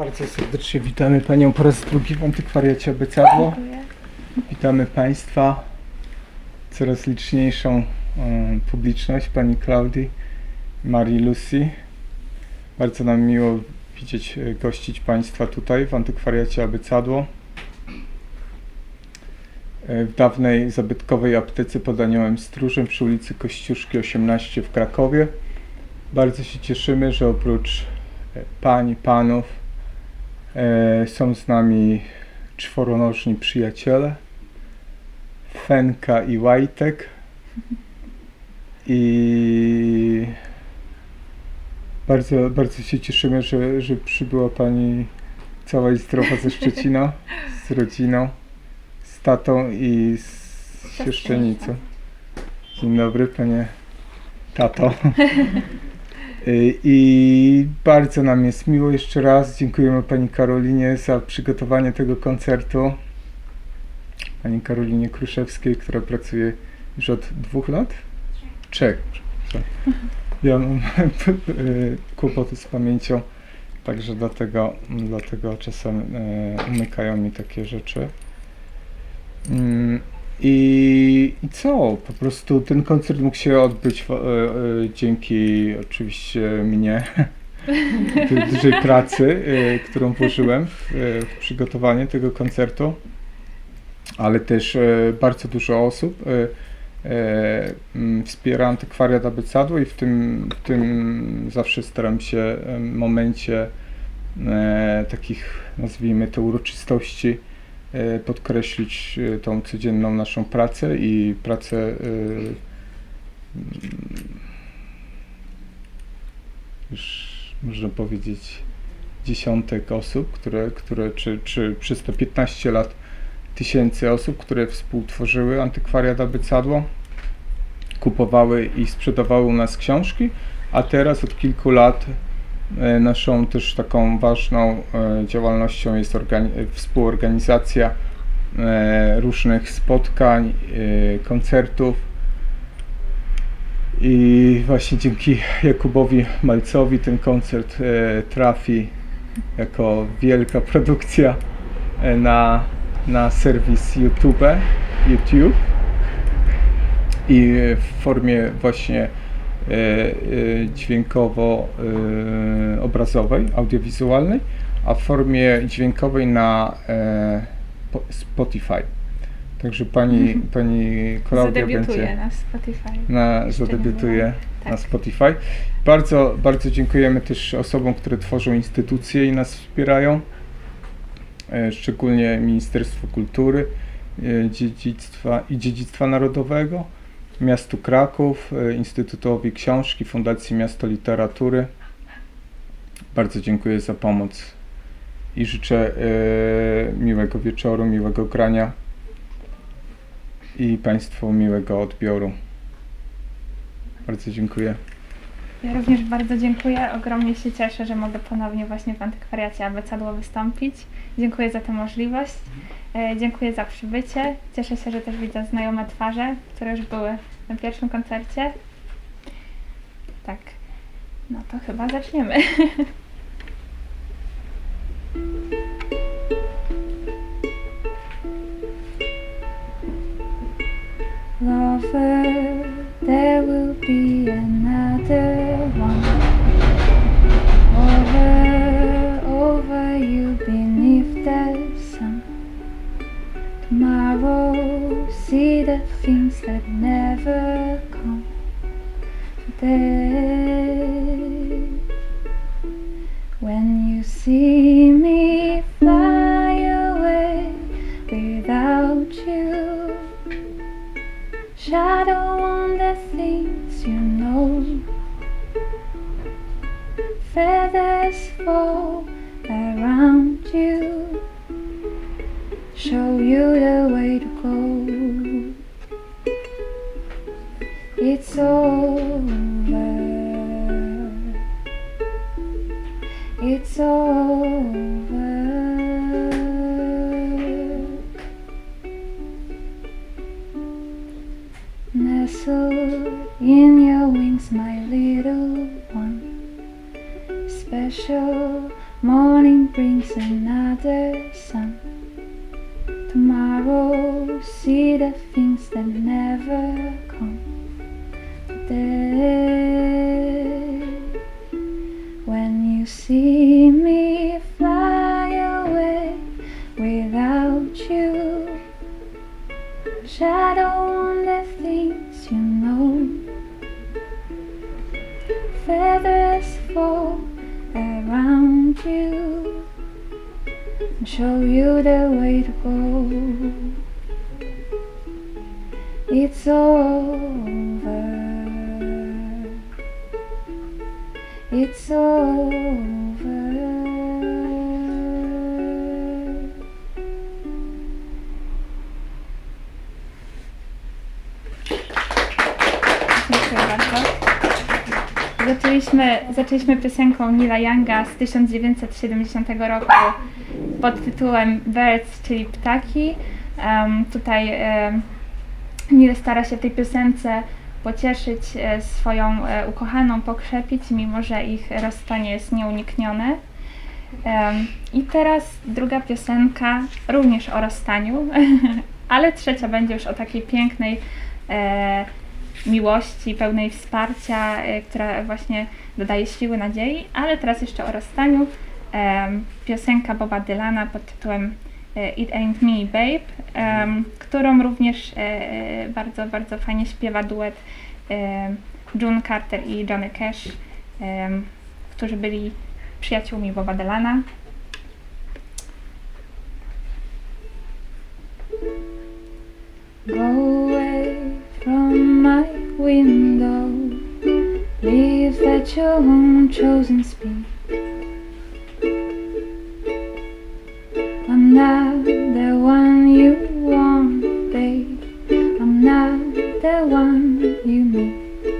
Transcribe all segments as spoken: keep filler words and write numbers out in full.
Bardzo serdecznie witamy Panią po raz drugi w Antykwariacie Abecadło. Witamy Państwa, coraz liczniejszą um, publiczność, Pani Klaudii, Marii Lucy. Bardzo nam miło widzieć, gościć Państwa tutaj w Antykwariacie Abecadło. W dawnej zabytkowej aptece pod Aniołem Stróżem przy ulicy Kościuszki osiemnaście w Krakowie. Bardzo się cieszymy, że oprócz pań i panów e, są z nami czworonożni przyjaciele, Fenka i Łajtek. I bardzo, bardzo się cieszymy, że, że przybyła Pani cała i zdrowa ze Szczecina, z rodziną, z tatą i z siostrzenicą. Dzień dobry, Panie tato. I bardzo nam jest miło. Jeszcze raz dziękujemy Pani Karolinie za przygotowanie tego koncertu. Pani Karolinie Kruszewskiej, która pracuje już od dwóch lat? Trzech. Trzech. Ja mam kłopoty z pamięcią, także dlatego, dlatego czasem umykają mi takie rzeczy. I, I co? Po prostu ten koncert mógł się odbyć w, e, e, dzięki oczywiście mnie, tej dużej pracy, e, którą włożyłem w, w przygotowanie tego koncertu, ale też e, bardzo dużo osób e, e, m, wspiera Antykwariat Abecadło i w tym, w tym zawsze staram się w momencie e, takich, nazwijmy to, uroczystości podkreślić tą codzienną naszą pracę i pracę już można powiedzieć dziesiątek osób, które, które czy, czy przez te piętnaście lat tysięcy osób, które współtworzyły Antykwariat Abecadło, kupowały i sprzedawały u nas książki, a teraz od kilku lat naszą też taką ważną działalnością jest współorganizacja różnych spotkań, koncertów i właśnie dzięki Jakubowi Malcowi ten koncert trafi jako wielka produkcja na, na serwis YouTube, YouTube i w formie właśnie dźwiękowo-obrazowej, audiowizualnej, a w formie dźwiękowej na Spotify. Także pani, pani Klaudia będzie na Spotify. Na, zadebiutuje tak. na Spotify. Bardzo, bardzo dziękujemy też osobom, które tworzą instytucje i nas wspierają, szczególnie Ministerstwu Kultury, Dziedzictwa i Dziedzictwa Narodowego, Miastu Kraków, Instytutowi Książki, Fundacji Miasto Literatury. Bardzo dziękuję za pomoc i życzę e, miłego wieczoru, miłego grania i Państwu miłego odbioru. Bardzo dziękuję. Ja również bardzo dziękuję. Ogromnie się cieszę, że mogę ponownie właśnie w Antykwariacie Abecadło wystąpić. Dziękuję za tę możliwość. E, dziękuję za przybycie. Cieszę się, że też widzę znajome twarze, które już były na pierwszym koncercie. Tak, no to chyba zaczniemy. Lover, there will be another one. Over, over you beneath the sun. Tomorrow, see the things that never come. Today, when you see me fly away without you, shadow on the things you know, feathers fall around you, show you the way to go. It's over, it's over. Nestled in your wings, my little one, special morning breeze. brings another sun. Tomorrow, see the things that never come. Today, when you see me fly away without you, shadow on the things you know. Feathers fall around you and show you the way to go. It's over. It's over. Dziękuję bardzo. Zaczęliśmy, zaczęliśmy piosenką Neila Younga z tysiąc dziewięćset siedemdziesiątego roku pod tytułem Birds, czyli ptaki. Um, tutaj um, Neil stara się w tej piosence pocieszyć e, swoją e, ukochaną, pokrzepić, mimo że ich rozstanie jest nieuniknione. Um, I teraz druga piosenka, również o rozstaniu, ale trzecia będzie już o takiej pięknej e, miłości, pełnej wsparcia, e, która właśnie dodaje siły, nadziei, ale teraz jeszcze o rozstaniu. E, piosenka Boba Dylana pod tytułem It Ain't Me, Babe, um, którą również e, bardzo, bardzo fajnie śpiewa duet e, June Carter i Johnny Cash, e, którzy byli przyjaciółmi Boba Dylana. Go away from my window, leave that your own chosen speed. I'm not the one you want, babe. I'm not the one you need.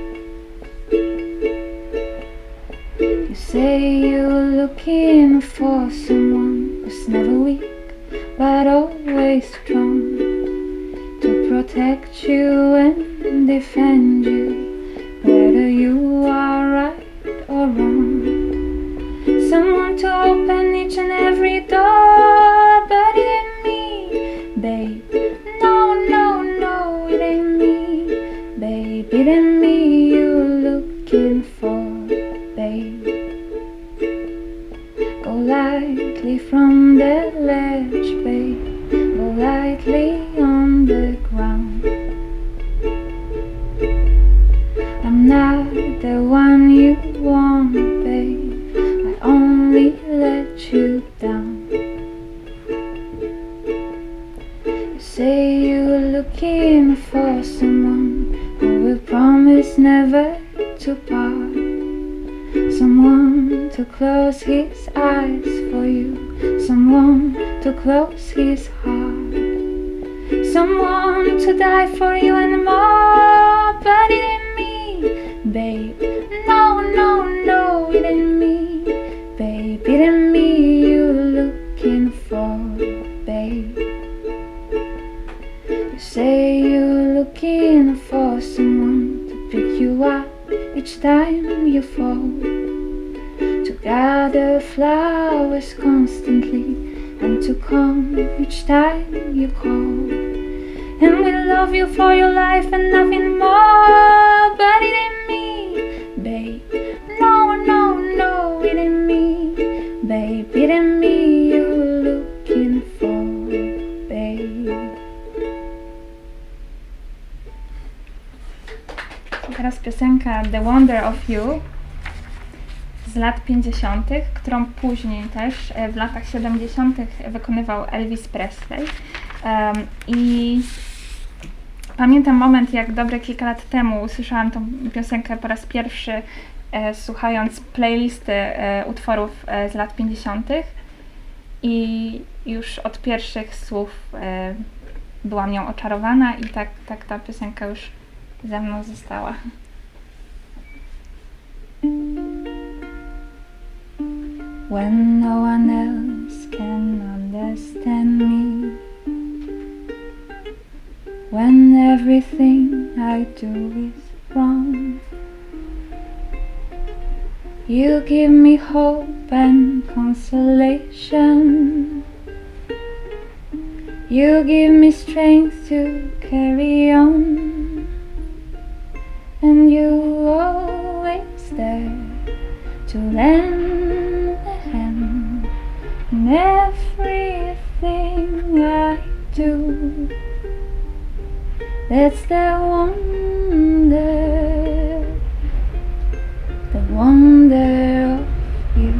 You say you're looking for someone who's never weak, but always strong, to protect you and defend you, whether you are right or wrong. Someone to open each and every door, but it ain't me, babe. No, no, no, it ain't me, babe. It ain't me you're looking for, babe. Go lightly from the ledge, babe. Go lightly on the ground. I'm not the one you want, babe. I only let you down. You say you're looking for someone who will promise never to part, someone to close his eyes for you, someone to close his heart, someone to die for you and more, but it ain't me, babe. No, no, no, it ain't me, babe. It ain't me you're looking for, babe. You say you're looking for someone to pick you up each time you fall, to gather flowers constantly and to come each time you call, and will love you for your life and nothing more, but it ain't me, babe. No, no, no, it ain't me, babe. It ain't me you're looking for, babe. Teraz piosenka The Wonder of You z lat pięćdziesiątych, którą później też w latach siedemdziesiątych wykonywał Elvis Presley. Um, I pamiętam moment, jak dobre kilka lat temu usłyszałam tą piosenkę po raz pierwszy, e, słuchając playlisty e, utworów e, z lat pięćdziesiątych i już od pierwszych słów e, byłam nią oczarowana i tak, tak ta piosenka już ze mną została. When no one else can understand me, when everything I do is wrong, you give me hope and confidence. consolation. You give me strength to carry on, and you always there to lend a hand in everything I do. That's the wonder, the wonder of you.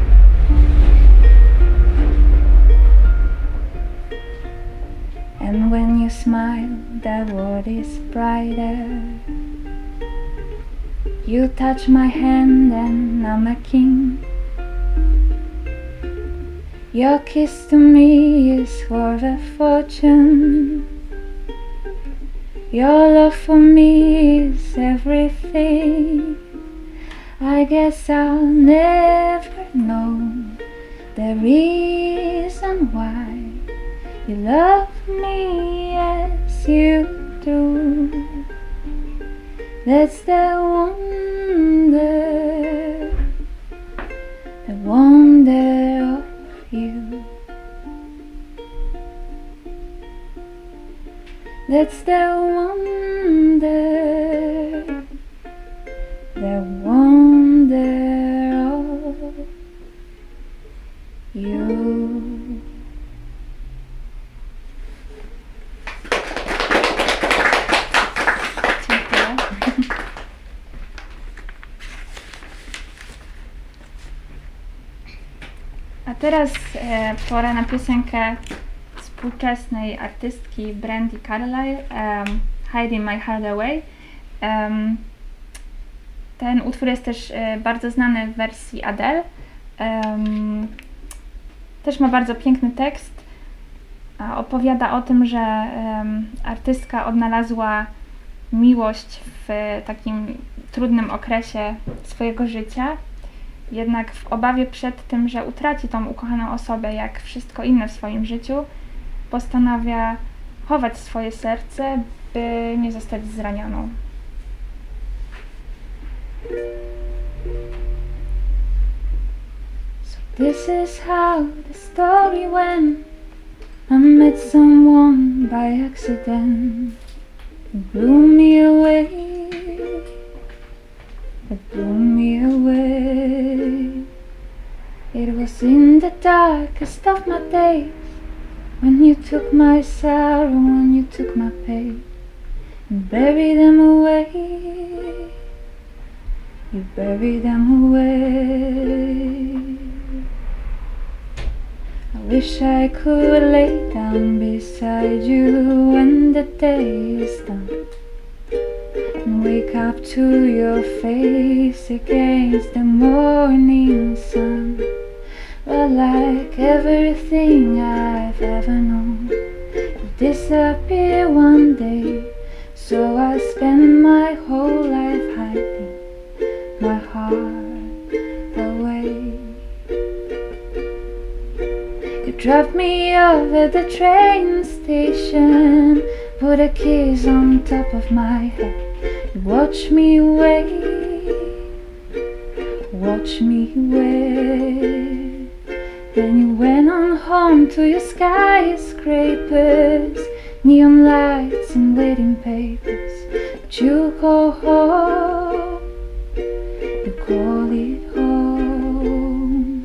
And when you smile, the world is brighter. You touch my hand and I'm a king. Your kiss to me is worth a fortune. Your love for me is everything. I guess I'll never know the reason why you love me as you do. That's the wonder, the wonder of you. That's the wonder, the wonder of you. A teraz e, pora na piosenkę współczesnej artystki Brandi Carlile, um, Hiding My Heart Away. Um, ten utwór jest też e, bardzo znany w wersji Adele. Um, też ma bardzo piękny tekst. A opowiada o tym, że um, artystka odnalazła miłość w takim trudnym okresie swojego życia. Jednak w obawie przed tym, że utraci tą ukochaną osobę, jak wszystko inne w swoim życiu, postanawia chować swoje serce, by nie zostać zranioną. So this is how the story went. I met someone by accident. It blew me away. It blew me away. It was in the darkest of my days, when you took my sorrow, when you took my pain and buried them away. You buried them away. I wish I could lay down beside you when the day is done, and wake up to your face against the morning sun. But like everything I've ever known, you'll disappear one day. So I spend my whole life hiding my heart away. You dropped me off at the train station, put a kiss on top of my head. You watch me wait, watch me wait. Then you went on home to your skyscrapers, neon lights and waiting papers. But you go home, you call it home.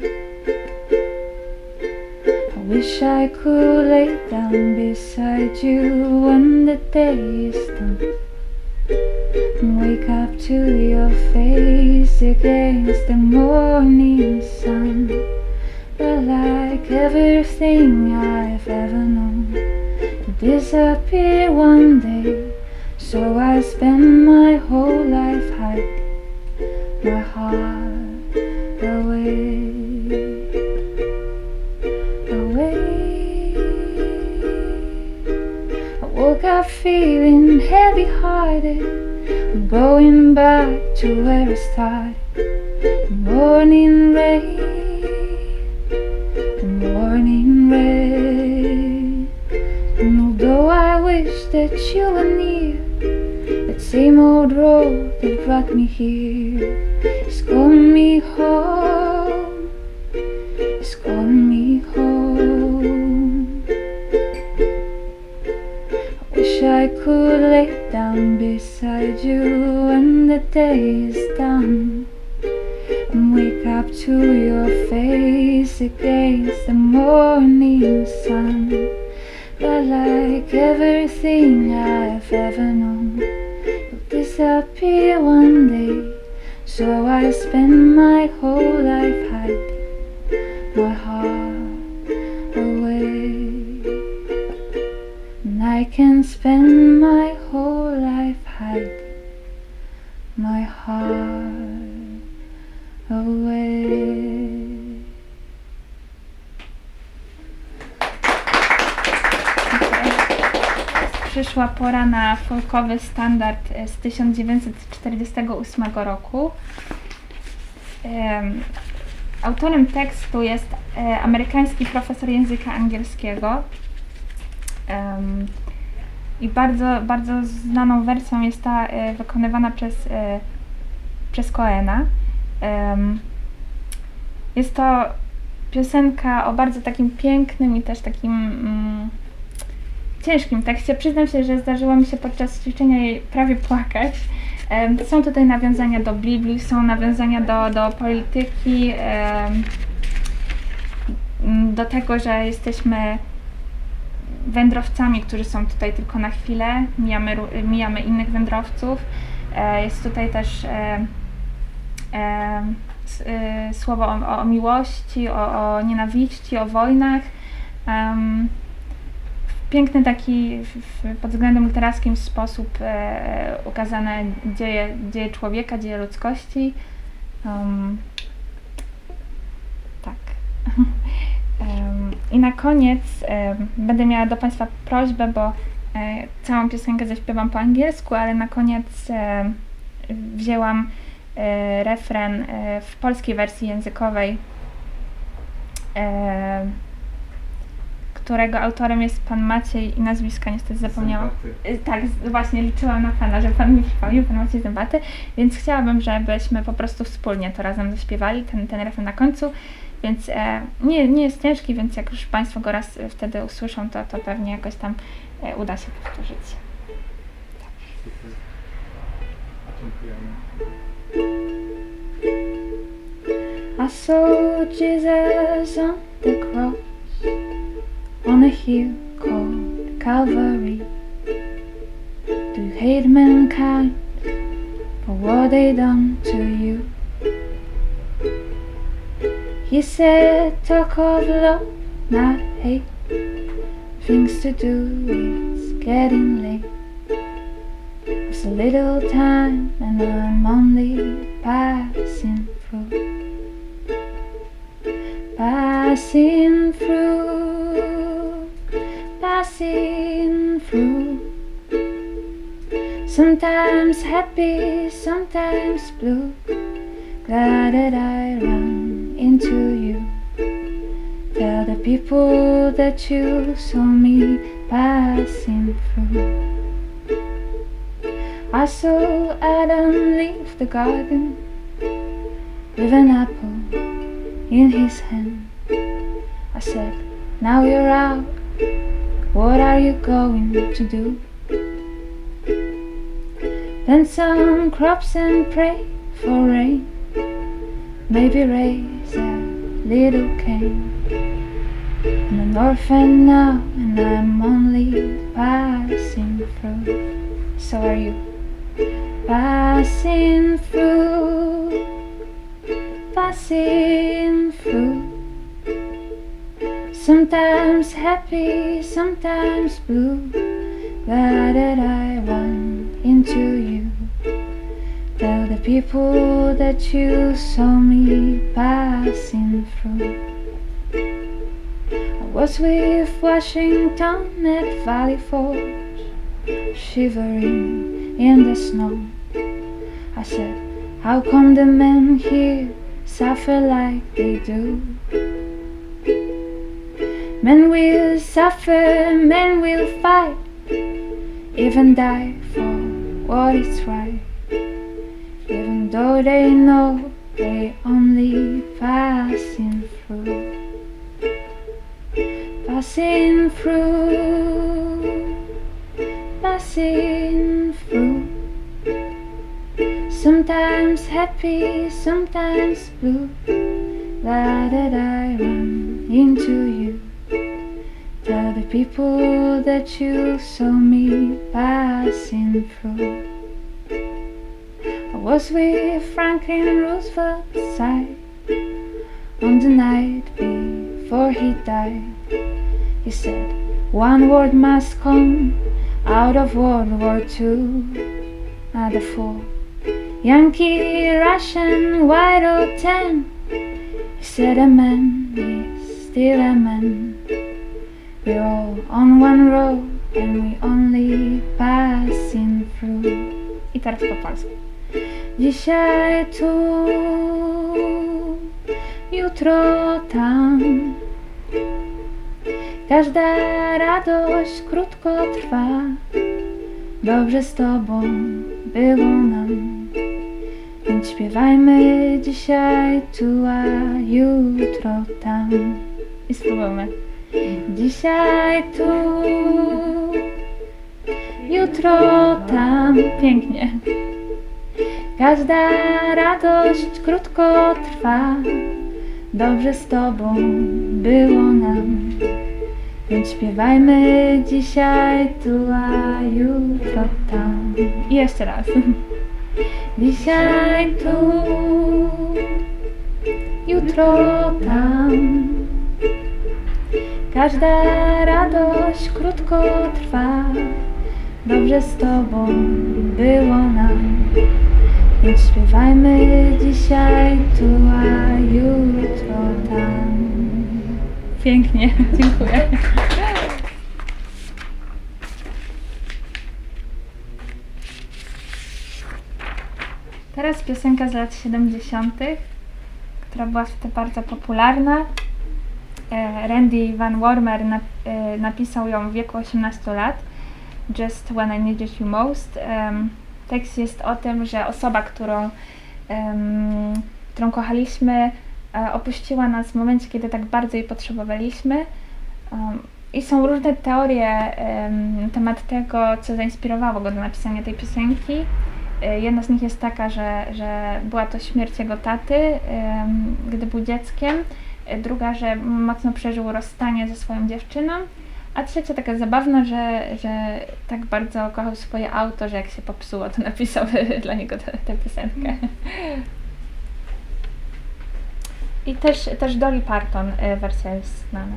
I wish I could lay down beside you when the day is done, and wake up to your face against the morning sun. But like everything I've ever known, you disappear one day. So I spend my whole life hiding my heart away, away. I woke up feeling heavy-hearted. I'm going back to where I started. The morning rain, the morning rain. And although I wish that you were near, that same old road that brought me here is calling me home, is down beside you when the day is done, and wake up to your face against the morning sun. But like everything I've ever known, you'll disappear one day. So I spend my whole life hiding my heart away. And I can spend my whole life hiding my heart away. Przyszła pora na folkowy standard z tysiąc dziewięćset czterdziestego ósmego roku. Um, autorem tekstu jest e, amerykański profesor języka angielskiego. Um, I bardzo, bardzo znaną wersją jest ta e, wykonywana przez, e, przez Coena. Um, jest to piosenka o bardzo takim pięknym i też takim mm, ciężkim tekście. Przyznam się, że zdarzyło mi się podczas ćwiczenia jej prawie płakać. Um, są tutaj nawiązania do Biblii, są nawiązania do, do polityki, um, do tego, że jesteśmy wędrowcami, którzy są tutaj tylko na chwilę, mijamy, mijamy innych wędrowców. E, jest tutaj też e, e, s, e, słowo o, o miłości, o, o nienawiści, o wojnach. Um, w piękny taki, w, pod względem literackim sposób e, ukazane dzieje, dzieje człowieka, dzieje ludzkości. Um, tak. Um, I na koniec um, będę miała do Państwa prośbę, bo e, całą piosenkę zaśpiewam po angielsku, ale na koniec e, wzięłam e, refren e, w polskiej wersji językowej, e, którego autorem jest pan Maciej i nazwiska niestety zapomniałam. E, tak, z, właśnie liczyłam na Pana, że Pan mi przypomnił, pan Maciej Zębaty, więc chciałabym, żebyśmy po prostu wspólnie to razem zaśpiewali, ten, ten refren na końcu. Więc e, nie, nie jest ciężki, więc jak już Państwo go raz wtedy usłyszą, to, to pewnie jakoś tam e, uda się powtórzyć. Super. Dziękujemy. I saw Jesus on the cross, on a hill called Calvary, to hate mankind for what they done to you. He said, talk of love, not hate. Things to do, it's getting late. There's a little time and I'm only passing through. Passing through, passing through. Sometimes happy, sometimes blue. Glad that I run into you. Tell the people that you saw me passing through. I saw Adam leave the garden with an apple in his hand. I said, now you're out, what are you going to do? Plant some crops and pray for rain. Maybe raise a little cane. I'm an orphan now and I'm only passing through. So are you. Passing through, passing through. Sometimes happy, sometimes blue. Glad that I run into you. Tell the people that you saw me passing through. I was with Washington at Valley Forge, shivering in the snow. I said, how come the men here suffer like they do? Men will suffer, men will fight, even die for what is right. Even though they know they only passing through. Passing through, passing through. sometimes happy, sometimes blue. Why did I run into you? Tell the people that you saw me passing through. I was with Franklin Roosevelt's side on the night before he died. He said, one word must come out of World War Two. Not a fool, Yankee, Russian, white or tan. He said a man is still a man. We're all on one road and we only passing through. I teraz po polsku. Dzisiaj tu, jutro tam. Każda radość krótko trwa. Dobrze z tobą było nam. Więc śpiewajmy dzisiaj tu, a jutro tam. I spróbujmy. Dzisiaj tu, jutro tam. Pięknie. Każda radość krótko trwa. Dobrze z tobą było nam. Więc śpiewajmy dzisiaj tu, a jutro tam. I jeszcze raz. Dzisiaj tu, jutro tam. Każda radość krótko trwa. Dobrze z tobą było nam. Więc śpiewajmy dzisiaj tu, a jutro tam. Pięknie, dziękuję. Teraz piosenka z lat siedemdziesiątych, która była wtedy bardzo popularna. Randy Van Warmer napisał ją w wieku osiemnastu lat. Just When I Needed You Most. Tekst jest o tym, że osoba, którą, którą kochaliśmy, opuściła nas w momencie, kiedy tak bardzo jej potrzebowaliśmy. I są różne teorie na temat tego, co zainspirowało go do napisania tej piosenki. Jedna z nich jest taka, że, że była to śmierć jego taty, gdy był dzieckiem. Druga, że mocno przeżył rozstanie ze swoją dziewczyną. A trzecia taka zabawna, że, że tak bardzo kochał swoje auto, że jak się popsuło, to napisał dla niego tę, tę piosenkę. I też, też Dolly Parton wersja jest znana.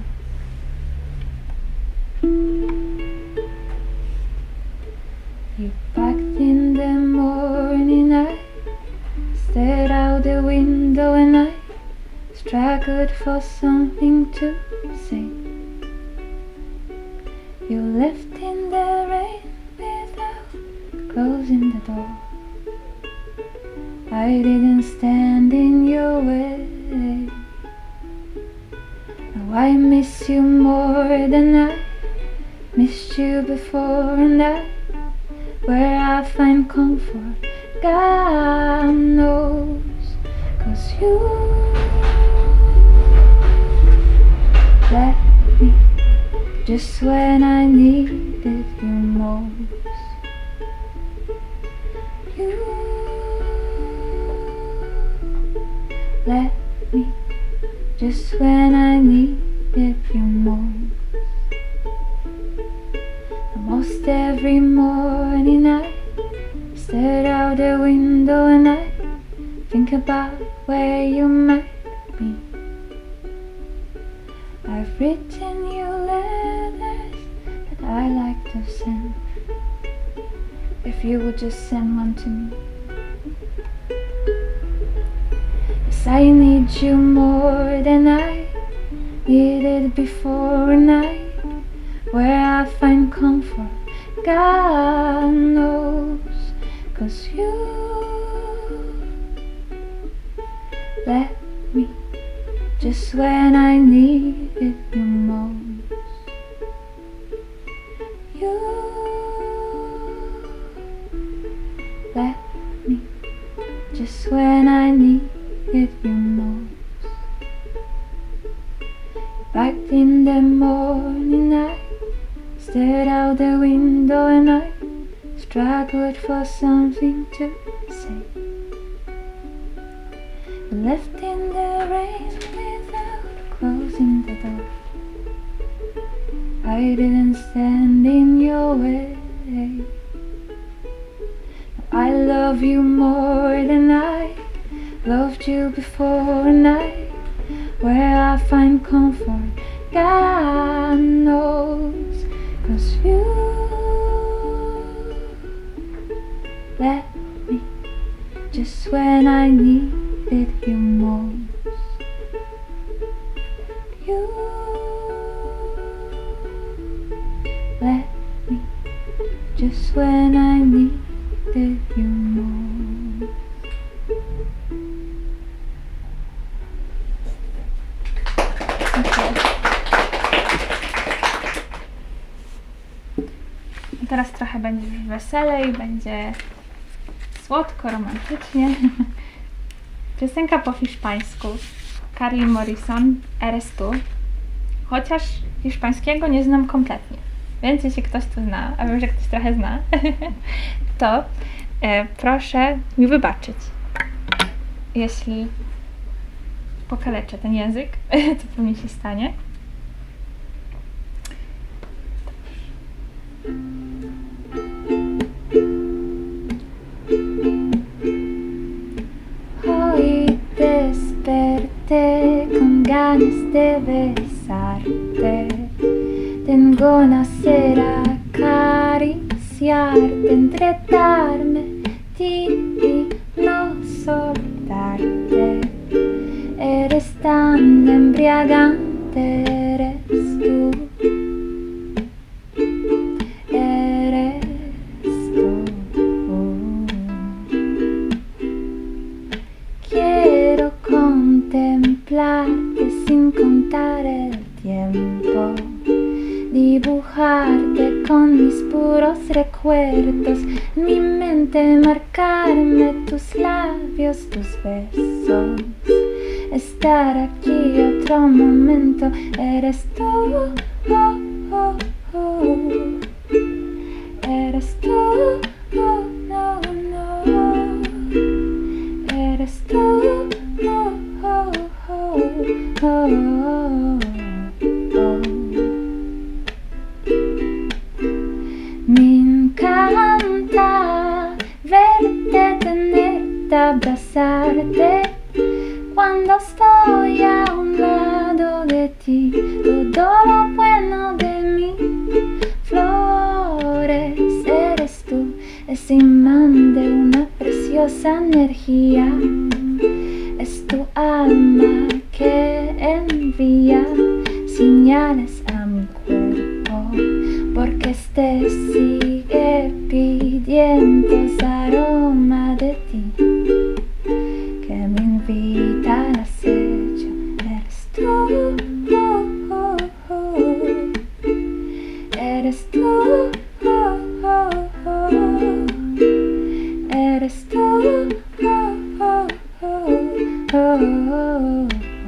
You packed in the morning, I stared out the window and I struggled for something to say. You left in the rain without closing the door. I didn't stand in your way. Now I miss you more than I missed you before, and I, where I find comfort, God knows. 'Cause you let me just when I needed you most. You let me just when I needed you most. Almost every morning I stare out the window and I think about where you might be. I've written you letters that I like to send. If you would just send one to me. Yes, I need you more than I needed before, a night where I find comfort, God knows. 'Cause you let me just when I needed you most. You let me just when I needed you most. Back in the morning I stared out the window and I struggled for something to say. left in the rain without closing the door. I didn't stand in your way. I love you more than I loved you before, and I, where I find comfort, God knows. 'Cause you let me just when I needed you most. You let me just when I needed you most. Okay. I teraz trochę będzie już weselej, będzie słodko, romantycznie. Piosenka po hiszpańsku. Carly Morrison, Eres tú. Chociaż hiszpańskiego nie znam kompletnie, więc jeśli ktoś tu zna, a wiem, że ktoś trochę zna, to e, proszę mi wybaczyć, jeśli pokaleczę ten język, co pewnie się stanie. Hoy desperté con ganas de besarte. Tengo nacer a acariciarte, entretarme ti y no soltarte. Eres tan embriagante, eres tú. Eres tú. Quiero contemplarte sin contar el tiempo. Dibujarte con mis puros recuerdos, en mi mente marcarme tus labios, tus besos. Estar aquí otro momento, eres tú, oh, oh, oh. Eres tú, oh, no, no. Eres tú, oh, oh, oh, oh, oh. Me encanta verte, tenerte, abrazarte. Cuando estoy a un lado de ti, todo lo bueno de mí. Flores, eres tú, ese imán de una preciosa energía. Es tu alma que envía señales a mi cuerpo, porque este sigue pidiendo aroma de ti, que me invita al acecho. Eres tú, oh, oh, oh. Eres tú, oh, oh, oh. Eres tú, oh, oh, oh, oh, oh, oh.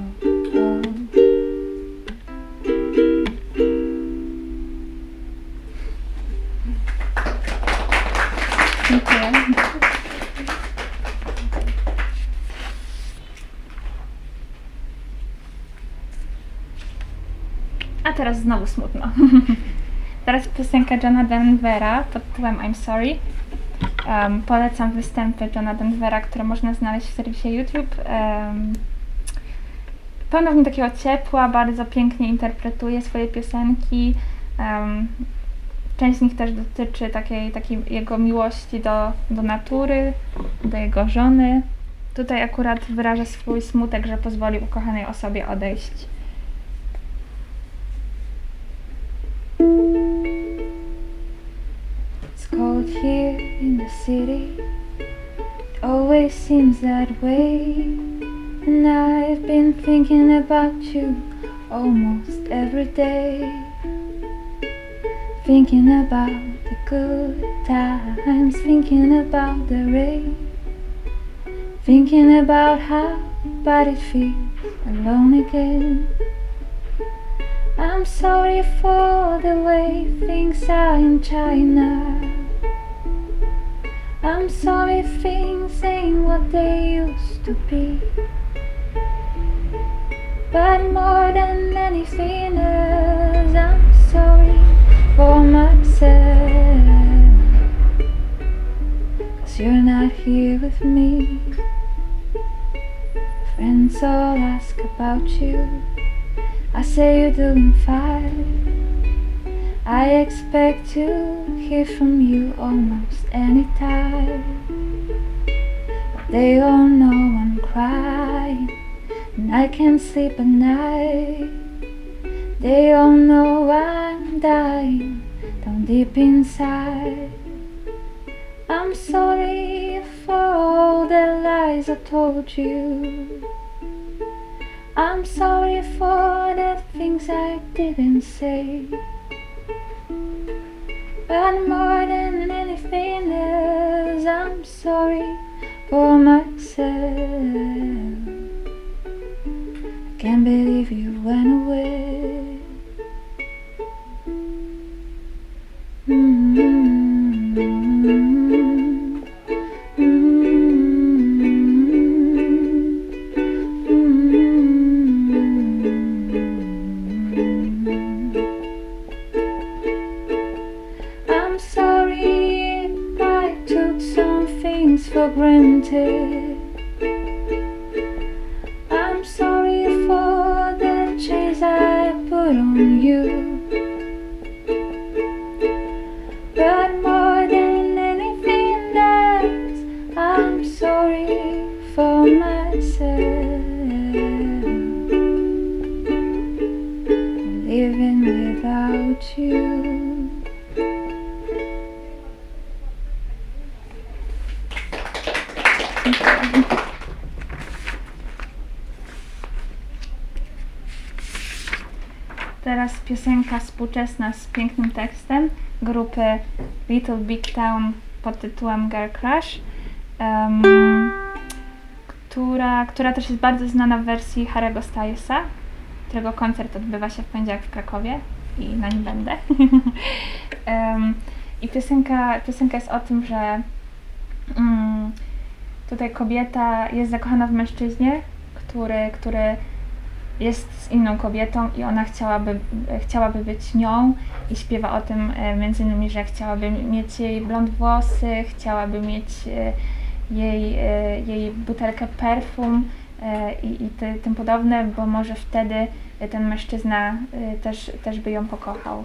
A teraz znowu smutno. Teraz piosenka Johna Denvera pod tytułem I'm Sorry. Um, polecam występy Johna Denvera, które można znaleźć w serwisie YouTube. Um, pełno w nim takiego ciepła, bardzo pięknie interpretuje swoje piosenki. Um, część z nich też dotyczy takiej, takiej jego miłości do, do natury, do jego żony. Tutaj akurat wyraża swój smutek, że pozwolił ukochanej osobie odejść. It's cold here in the city, it always seems that way. And I've been thinking about you almost every day. Thinking about the good times, thinking about the rain. Thinking about how bad it feels alone again. I'm sorry for the way things are in China. I'm sorry things ain't what they used to be. But more than anything else, I'm sorry for myself. 'Cause you're not here with me. Friends all ask about you. I say you're doing fine. I expect to hear from you almost any time. But they all know I'm crying and I can't sleep at night. They all know I'm dying down deep inside. I'm sorry for all the lies I told you. I'm sorry for the things I didn't say. But more than anything else, I'm sorry for myself. I can't believe you went away. Mm-hmm. I'm sorry if I took some things for granted. I'm sorry for the chains I put on you. But more than anything else, I'm sorry for myself. Living without you. Teraz piosenka współczesna z pięknym tekstem grupy Little Big Town pod tytułem Girl Crush, um, która, która też jest bardzo znana w wersji Harry'ego Stylesa, którego koncert odbywa się w poniedziałek w Krakowie i na nim będę. um, I piosenka, piosenka jest o tym, że um, tutaj kobieta jest zakochana w mężczyźnie, który, który jest z inną kobietą i ona chciałaby, chciałaby być nią i śpiewa o tym między innymi, że chciałaby mieć jej blond włosy, chciałaby mieć jej, jej butelkę perfum i, i ty, tym podobne, bo może wtedy ten mężczyzna też, też by ją pokochał.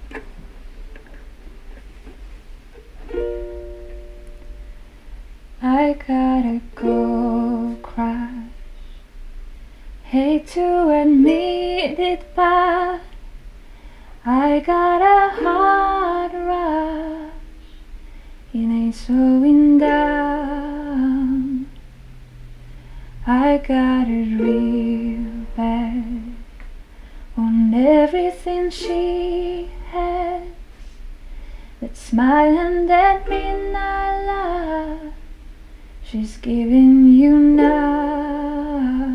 I gotta go cry. Hate to admit it, but I got a hard rush. It ain't slowing down. I got it real bad on everything she has. That smile and that midnight laugh she's giving you now.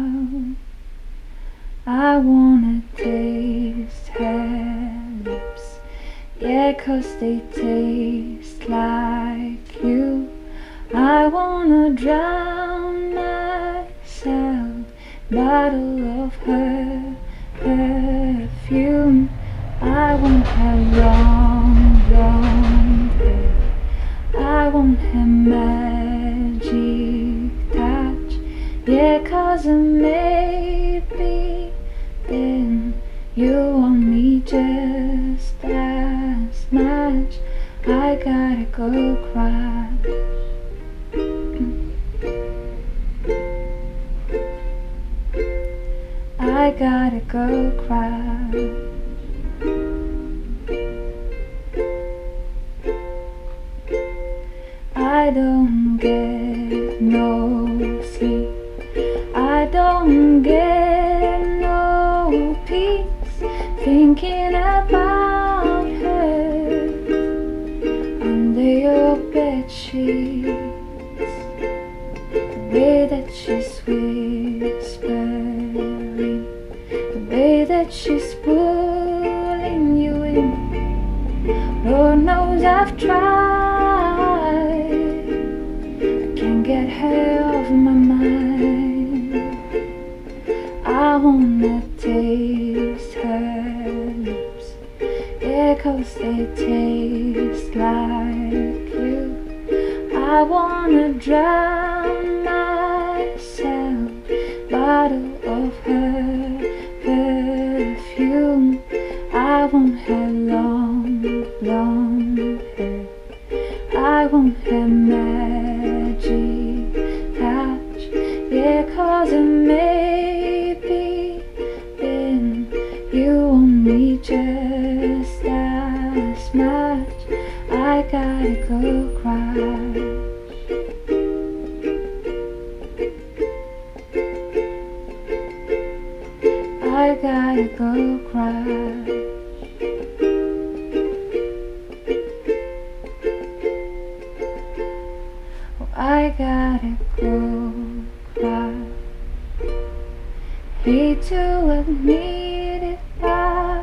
I wanna taste her lips, yeah, 'cause they taste like you. I wanna drown myself, bottle of her perfume. I want her long, long hair. I want her magic touch, yeah, 'cause maybe then you want me just as much. I gotta go cry. I gotta go cry. I don't get no sleep. I don't get no peace thinking about her under your bed sheets. The way that she's whispering, the way that she's pulling you in. Lord knows I've tried, I can't get her off my mind. I wanna taste her lips, yeah, 'cause they taste like you. I wanna drown myself, bottle of her perfume. I want her long blonde hair, I want her magic touch, yeah, 'cause it may be then you want me just as much. I gotta go cry. I gotta go cry. Oh, I gotta go cry. Hate to admit it, but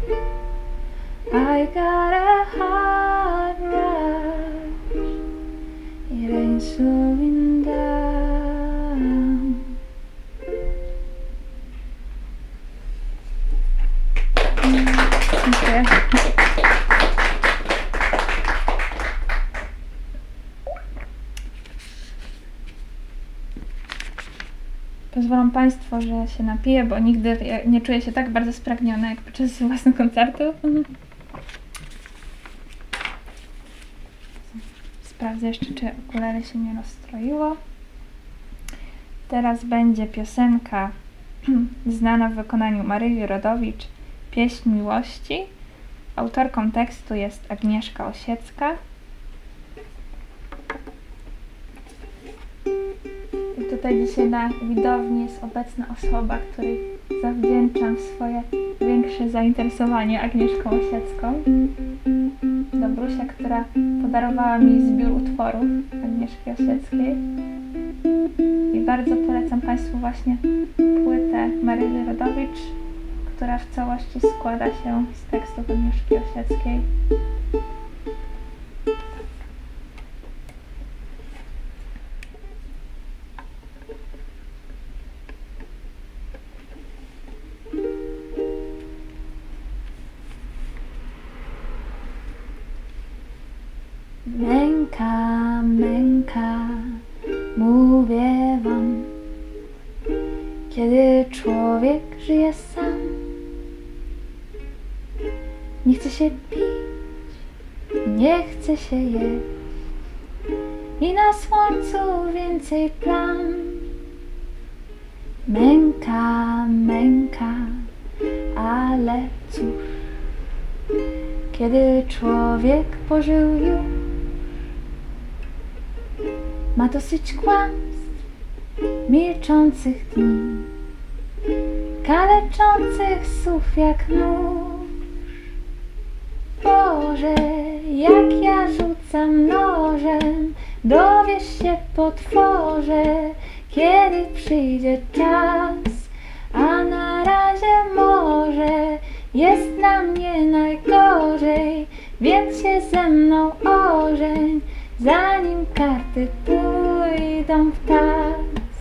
I got a heart rush. It ain't slowing down. Dziękuję. Pozwolą Państwo, że się napiję, bo nigdy nie czuję się tak bardzo spragniona jak podczas własnych koncertów. Sprawdzę jeszcze, czy ukulele się nie rozstroiło. Teraz będzie piosenka znana w wykonaniu Maryi Rodowicz, Pieśń miłości. Autorką tekstu jest Agnieszka Osiecka. I tutaj dzisiaj na widowni jest obecna osoba, której zawdzięczam swoje większe zainteresowanie Agnieszką Osiecką. Dobrusia, która podarowała mi zbiór utworów Agnieszki Osieckiej. I bardzo polecam Państwu właśnie płytę Maryi Rodowicz, która w całości składa się z tekstów Agnieszki Osieckiej. Męka, męka, mówię wam, kiedy człowiek żyje sam, nie chce się pić, nie chce się jeść i na słońcu więcej plam. Męka, męka, ale cóż, kiedy człowiek pożył już, ma dosyć kłamstw, milczących dni, kaleczących słów jak nóż. Boże, jak ja rzucam nożem, dowiesz się, potworze, kiedy przyjdzie czas, a na razie może jest na mnie najgorzej, więc się ze mną ożeń, zanim karty pójdą w tas.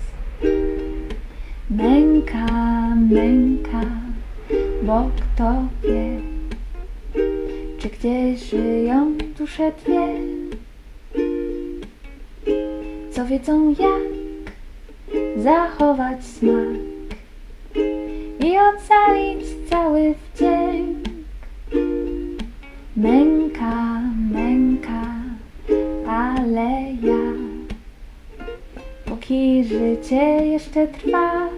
Męka, męka, bo kto wie, czy gdzieś żyją dusze dwie, co wiedzą jak zachować smak i ocalić cały wdzięk. Męka, męka, ale ja, póki życie jeszcze trwa,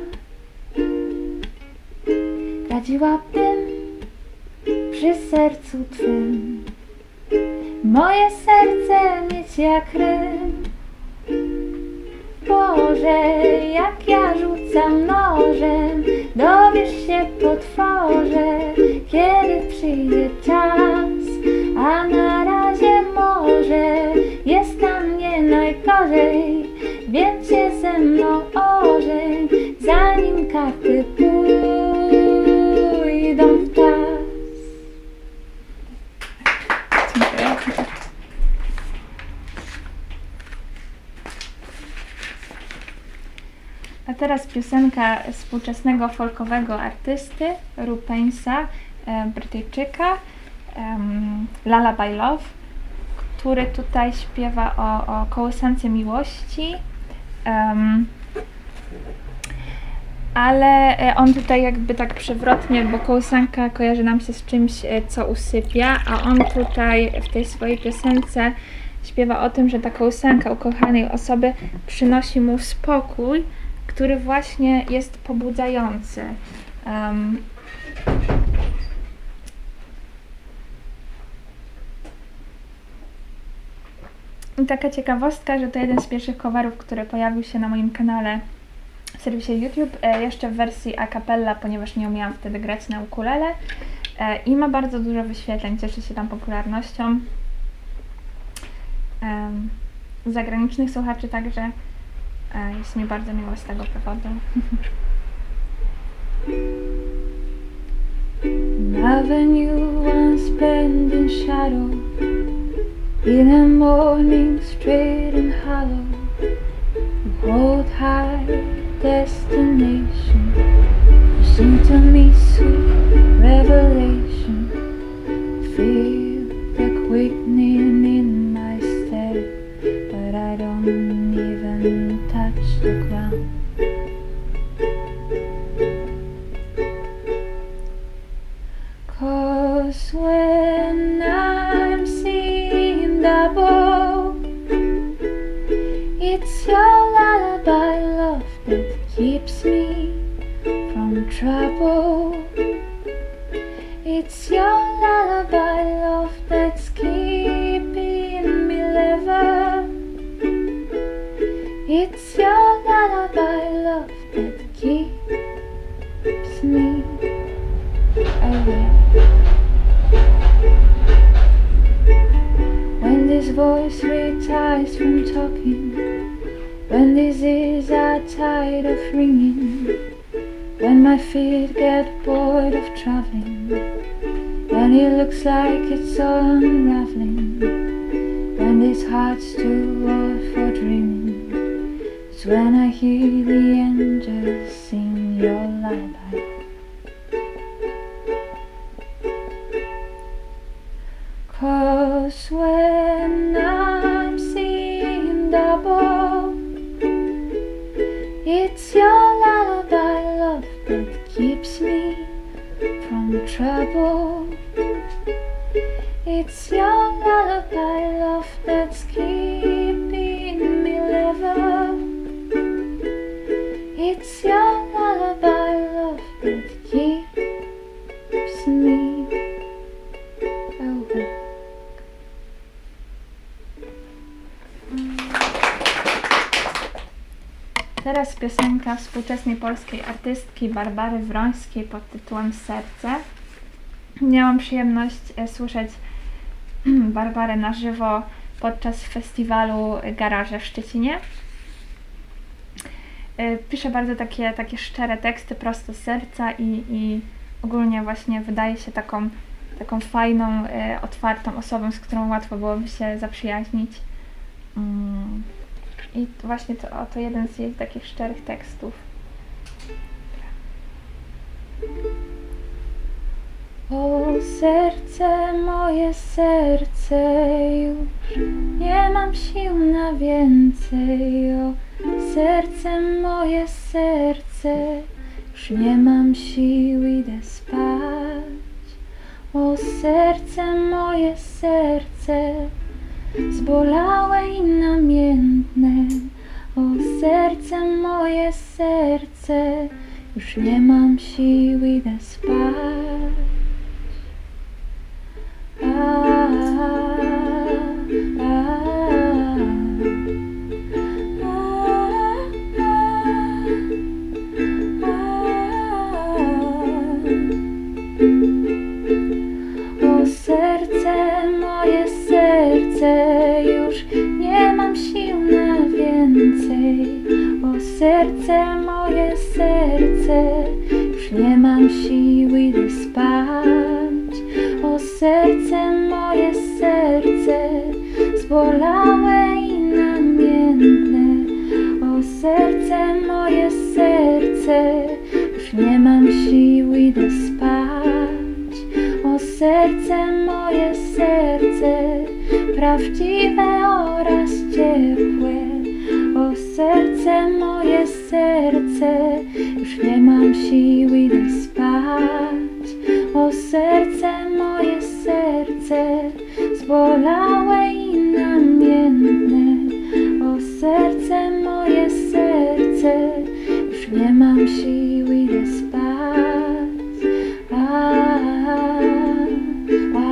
radziłabym przy sercu twym moje serce mieć jak Rym. Boże, jak ja rzucam nożem, dowiesz się, potworze, kiedy przyjdzie czas, a na razie może jest na mnie najgorzej, więc się ze mną ożeń, zanim karty pójdą w tas. Dziękuję. A teraz piosenka współczesnego folkowego artysty Rupensa, e, Brytyjczyka, um, Lullaby Love, który tutaj śpiewa o, o kołysance miłości. Um, ale on tutaj jakby tak przewrotnie, bo kołysanka kojarzy nam się z czymś, co usypia, a on tutaj w tej swojej piosence śpiewa o tym, że ta kołysanka ukochanej osoby przynosi mu spokój, który właśnie jest pobudzający. Um, I taka ciekawostka, że to jeden z pierwszych coverów, który pojawił się na moim kanale w serwisie YouTube, e, jeszcze w wersji a cappella, ponieważ nie umiałam wtedy grać na ukulele, e, i ma bardzo dużo wyświetleń, cieszy się tam popularnością e, zagranicznych słuchaczy, także e, jest mi bardzo miło z tego powodu. Loving you once spent in shadow, in a morning straight and hollow, you hold high destination, you seem to me sweet revelation, feel the quickening in my step, but I don't even touch the ground. Cause when I'm seeing double, it's your lullaby love that keeps me from trouble. It's your lullaby love that's keeping me level. It's your lullaby love that keeps me awake. When this voice retires from talking, when these ears are tired of ringing, when my feet get bored of traveling, when it looks like it's all unraveling, when this heart's too old for dreaming, it's when I hear the angels sing your lullaby. Cause when I'm seeing double, it's your lullaby love that keeps me from trouble. It's your lullaby love that's keeping me level. It's your lullaby love that keeps me awake. Teraz piosenka współczesnej polskiej artystki Barbary Wrońskiej pod tytułem Serce. Miałam przyjemność e, słyszeć Barbarę na żywo podczas festiwalu Garaże w Szczecinie. E, pisze bardzo takie, takie szczere teksty, prosto z serca i, i ogólnie właśnie wydaje się taką, taką fajną, e, otwartą osobą, z którą łatwo byłoby się zaprzyjaźnić. Mm. I właśnie to, to jeden z jej takich szczerych tekstów. O serce, moje serce, już nie mam sił na więcej. O serce, moje serce, już nie mam sił, idę spać. O serce, moje serce, zbolałe i namiętne. O serce, moje serce, już nie mam sił, idę spać. A, a, a, O serce, moje serce, już nie mam sił na więcej. O serce, moje serce, już nie mam sił, idę spać. O serce, moje serce, zbolałe i namiętne. O serce, moje serce, O serce moje, serce, prawdziwe oraz ciepłe. O serce moje, serce, już nie mam siły, idę spać. O serce moje, serce, zbolałe i namiętne. O serce moje, serce, już nie mam siły, idę spać. A, a,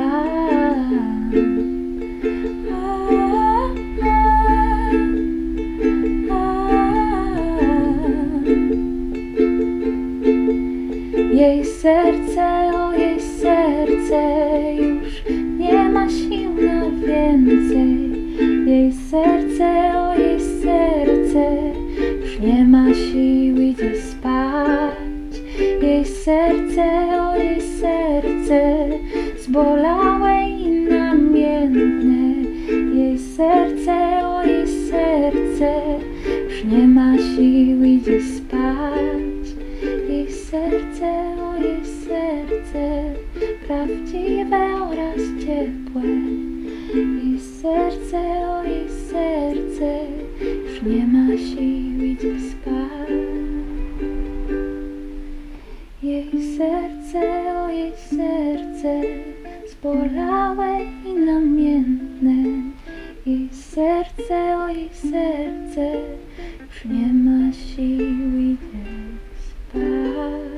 jej serce, o jej serce, już nie ma sił na więcej. Jej serce, o jej serce, już nie ma sił, idzie spać. Jej serce, o jej serce, zbolałe i namiętne. Jej serce, o jej serce, już nie ma sił, idzie spać. Jej serce, o jej serce, prawdziwe oraz ciepłe. Jej serce, o jej serce, już nie ma sił, idzie spać. Jej serce, o jej serce, zbolałe i namiętne. Jej serce, o jej serce, już nie ma sił, idzie spać.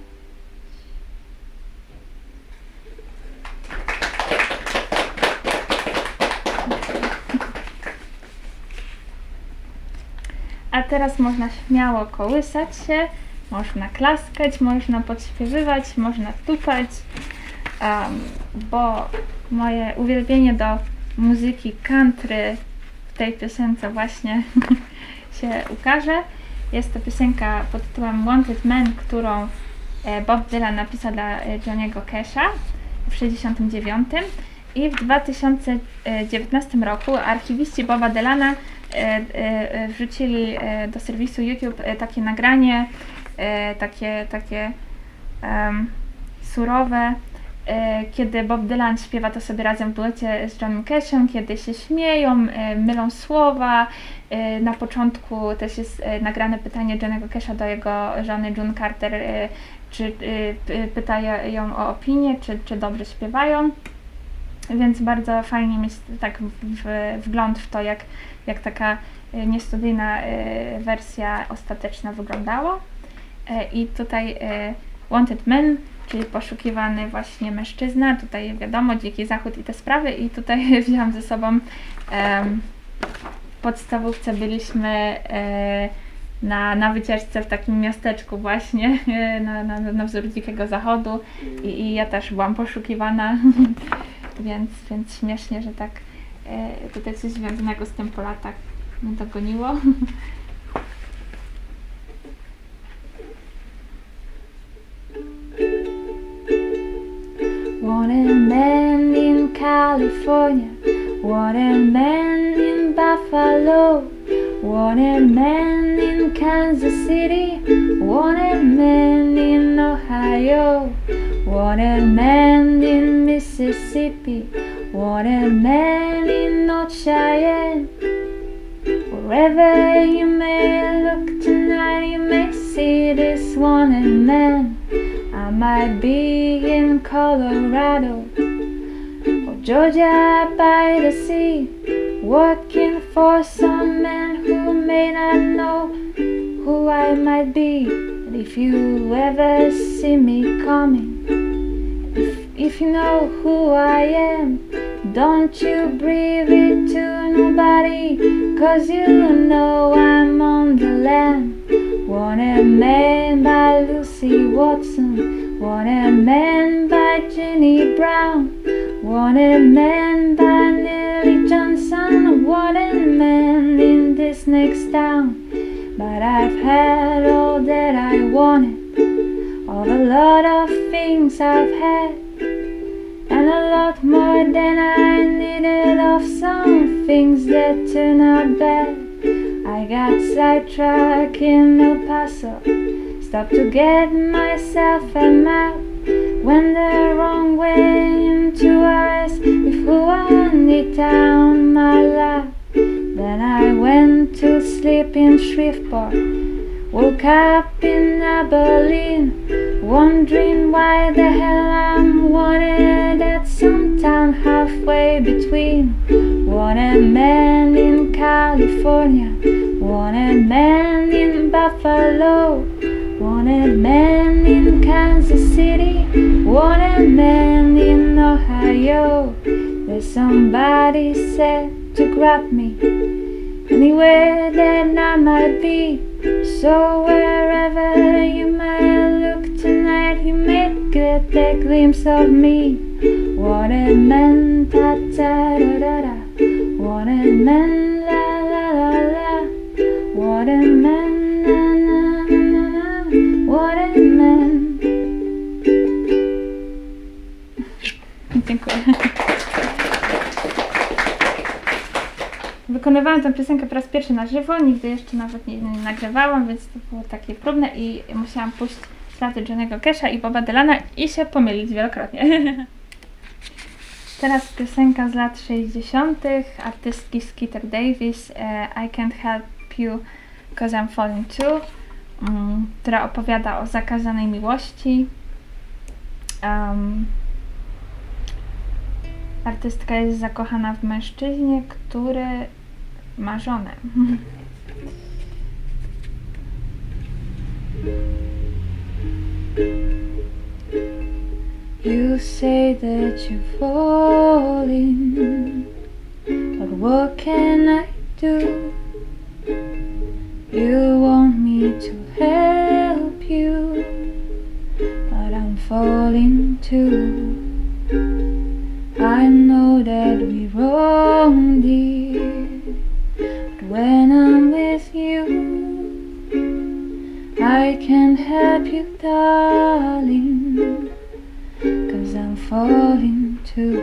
A teraz można śmiało kołysać się, można klaskać, można podśpiewywać, można tupać, um, bo moje uwielbienie do muzyki country w tej piosence właśnie się ukaże. Jest to piosenka pod tytułem Wanted Man, którą Bob Dylan napisał dla Johnny'ego Casha w sześćdziesiątym dziewiątym i w dwa tysiące dziewiętnastym roku archiwiści Boba Dylana wrzucili do serwisu YouTube takie nagranie, takie, takie um, surowe, kiedy Bob Dylan śpiewa to sobie razem w duecie z Johnnym Cashem, kiedy się śmieją, mylą słowa. Na początku też jest nagrane pytanie Johnny'ego Casha do jego żony June Carter, czy pyta ją o opinię, czy, czy dobrze śpiewają. Więc bardzo fajnie mieć tak w, w, wgląd w to, jak, jak taka niestudyjna wersja ostateczna wyglądała. I tutaj Wanted Man, czyli poszukiwany właśnie mężczyzna, tutaj wiadomo, Dziki Zachód i te sprawy, i tutaj wziąłam ze sobą um, w podstawówce byliśmy e, na, na wycieczce w takim miasteczku właśnie, e, na, na, na wzór Dzikiego Zachodu i, i ja też byłam poszukiwana, więc, więc śmiesznie, że tak e, tutaj coś związanego z tym po latach mnie dogoniło. Wanted man in California, wanted man in Buffalo, wanted man in Kansas City, wanted man in Ohio, wanted man in Mississippi, wanted man in North Cheyenne. Wherever you may look tonight, you may see this wanted man. I might be in Colorado or Georgia by the sea, working for some man who may not know who I might be. But if you ever see me coming, if, if you know who I am, don't you breathe it to nobody, 'cause you know I'm on the lam. Wanted Man by Lucy Watson, Wanted Man by Jenny Brown, Wanted Man by Nellie Johnson, Wanted Man in this next town. But I've had all that I wanted, of a lot of things I've had, and a lot more than I needed of some things that turn out bad. I got sidetracked in El Paso, stopped to get myself a map. went the wrong way into ours with who I need down my lap. Then I went to sleep in Shreveport, woke up in Abilene, wondering why the hell I'm wanted at some town halfway between. Wanted man in California, wanted man in Buffalo, wanted man in Kansas City, wanted man in Ohio. There's somebody said to grab me anywhere that I might be. So wherever you might look tonight, you may get a glimpse of me. Wanted man, ta ta da da da. Wanted man, la la la la. Wanted man, na na na na. Wanted man. Dziękuję. Wykonywałam tę piosenkę po raz pierwszy na żywo, nigdy jeszcze nawet nie, nie nagrywałam, więc to było takie próbne i musiałam pójść ślady Johnny'ego Casha i Boba Dylana i się pomylić wielokrotnie. Teraz piosenka z lat sześćdziesiątych artystki Skeeter Davis, e, I Can't Help You Cause I'm Falling Too, um, która opowiada o zakazanej miłości. Um, artystka jest zakochana w mężczyźnie, który ma żonę. You say that you're falling, but what can I do? You want me to help you, but I'm falling too. I know that we're wrong, dear, but when I'm with you, I can't help you, darling, 'cause I'm falling too.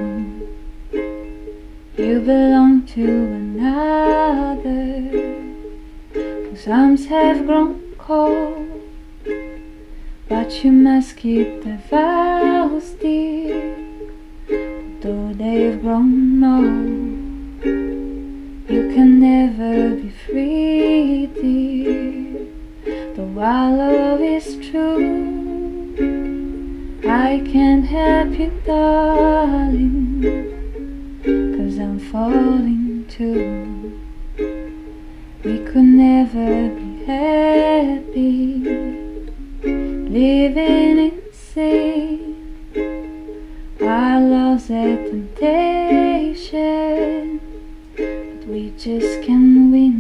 You belong to another, whose arms have grown cold, but you must keep the vows, dear, though they've grown old. You can never be free, dear, though our love is true. I can't help you, darling, 'cause I'm falling too. We could never be happy, living in sin. Our love's a temptation, but we just can't win.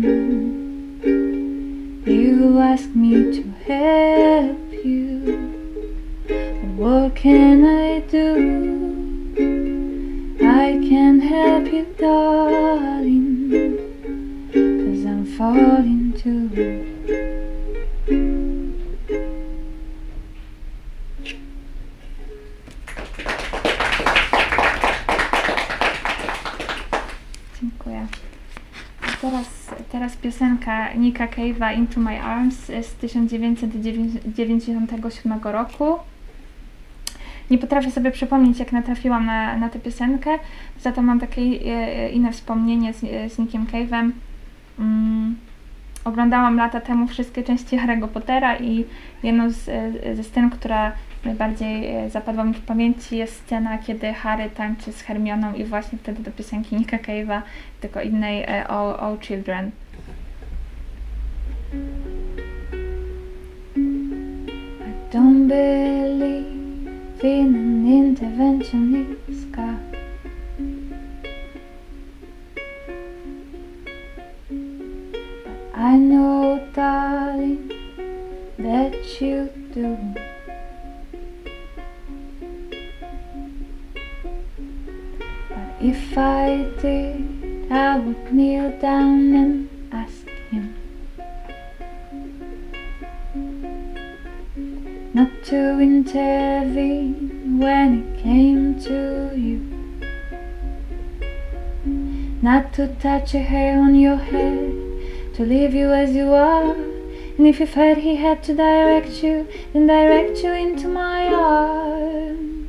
You ask me to help you, but what can I do? I can't help you, darling, 'cause I'm falling too. Dziękuję. Teraz, teraz piosenka Nicka Cave'a Into My Arms z tysiąc dziewięćset dziewięćdziesiątego siódmego roku. Nie potrafię sobie przypomnieć, jak natrafiłam na, na tę piosenkę, za to mam takie e, inne wspomnienie z, z Nickiem Cave'em. Mm, oglądałam lata temu wszystkie części Harry'ego Pottera i jedną z, ze scen, która najbardziej zapadła mi w pamięci, jest scena, kiedy Harry tańczy z Hermioną i właśnie wtedy do piosenki Nicka Cave'a, tylko innej, All, All Children. I don't believe in an interventionist God. I know, darling, that you do. But if I did, I would kneel down and ask him not to intervene when it came to you, not to touch a hair on your head, to leave you as you are. And if you felt he had to direct you, then direct you into my arms.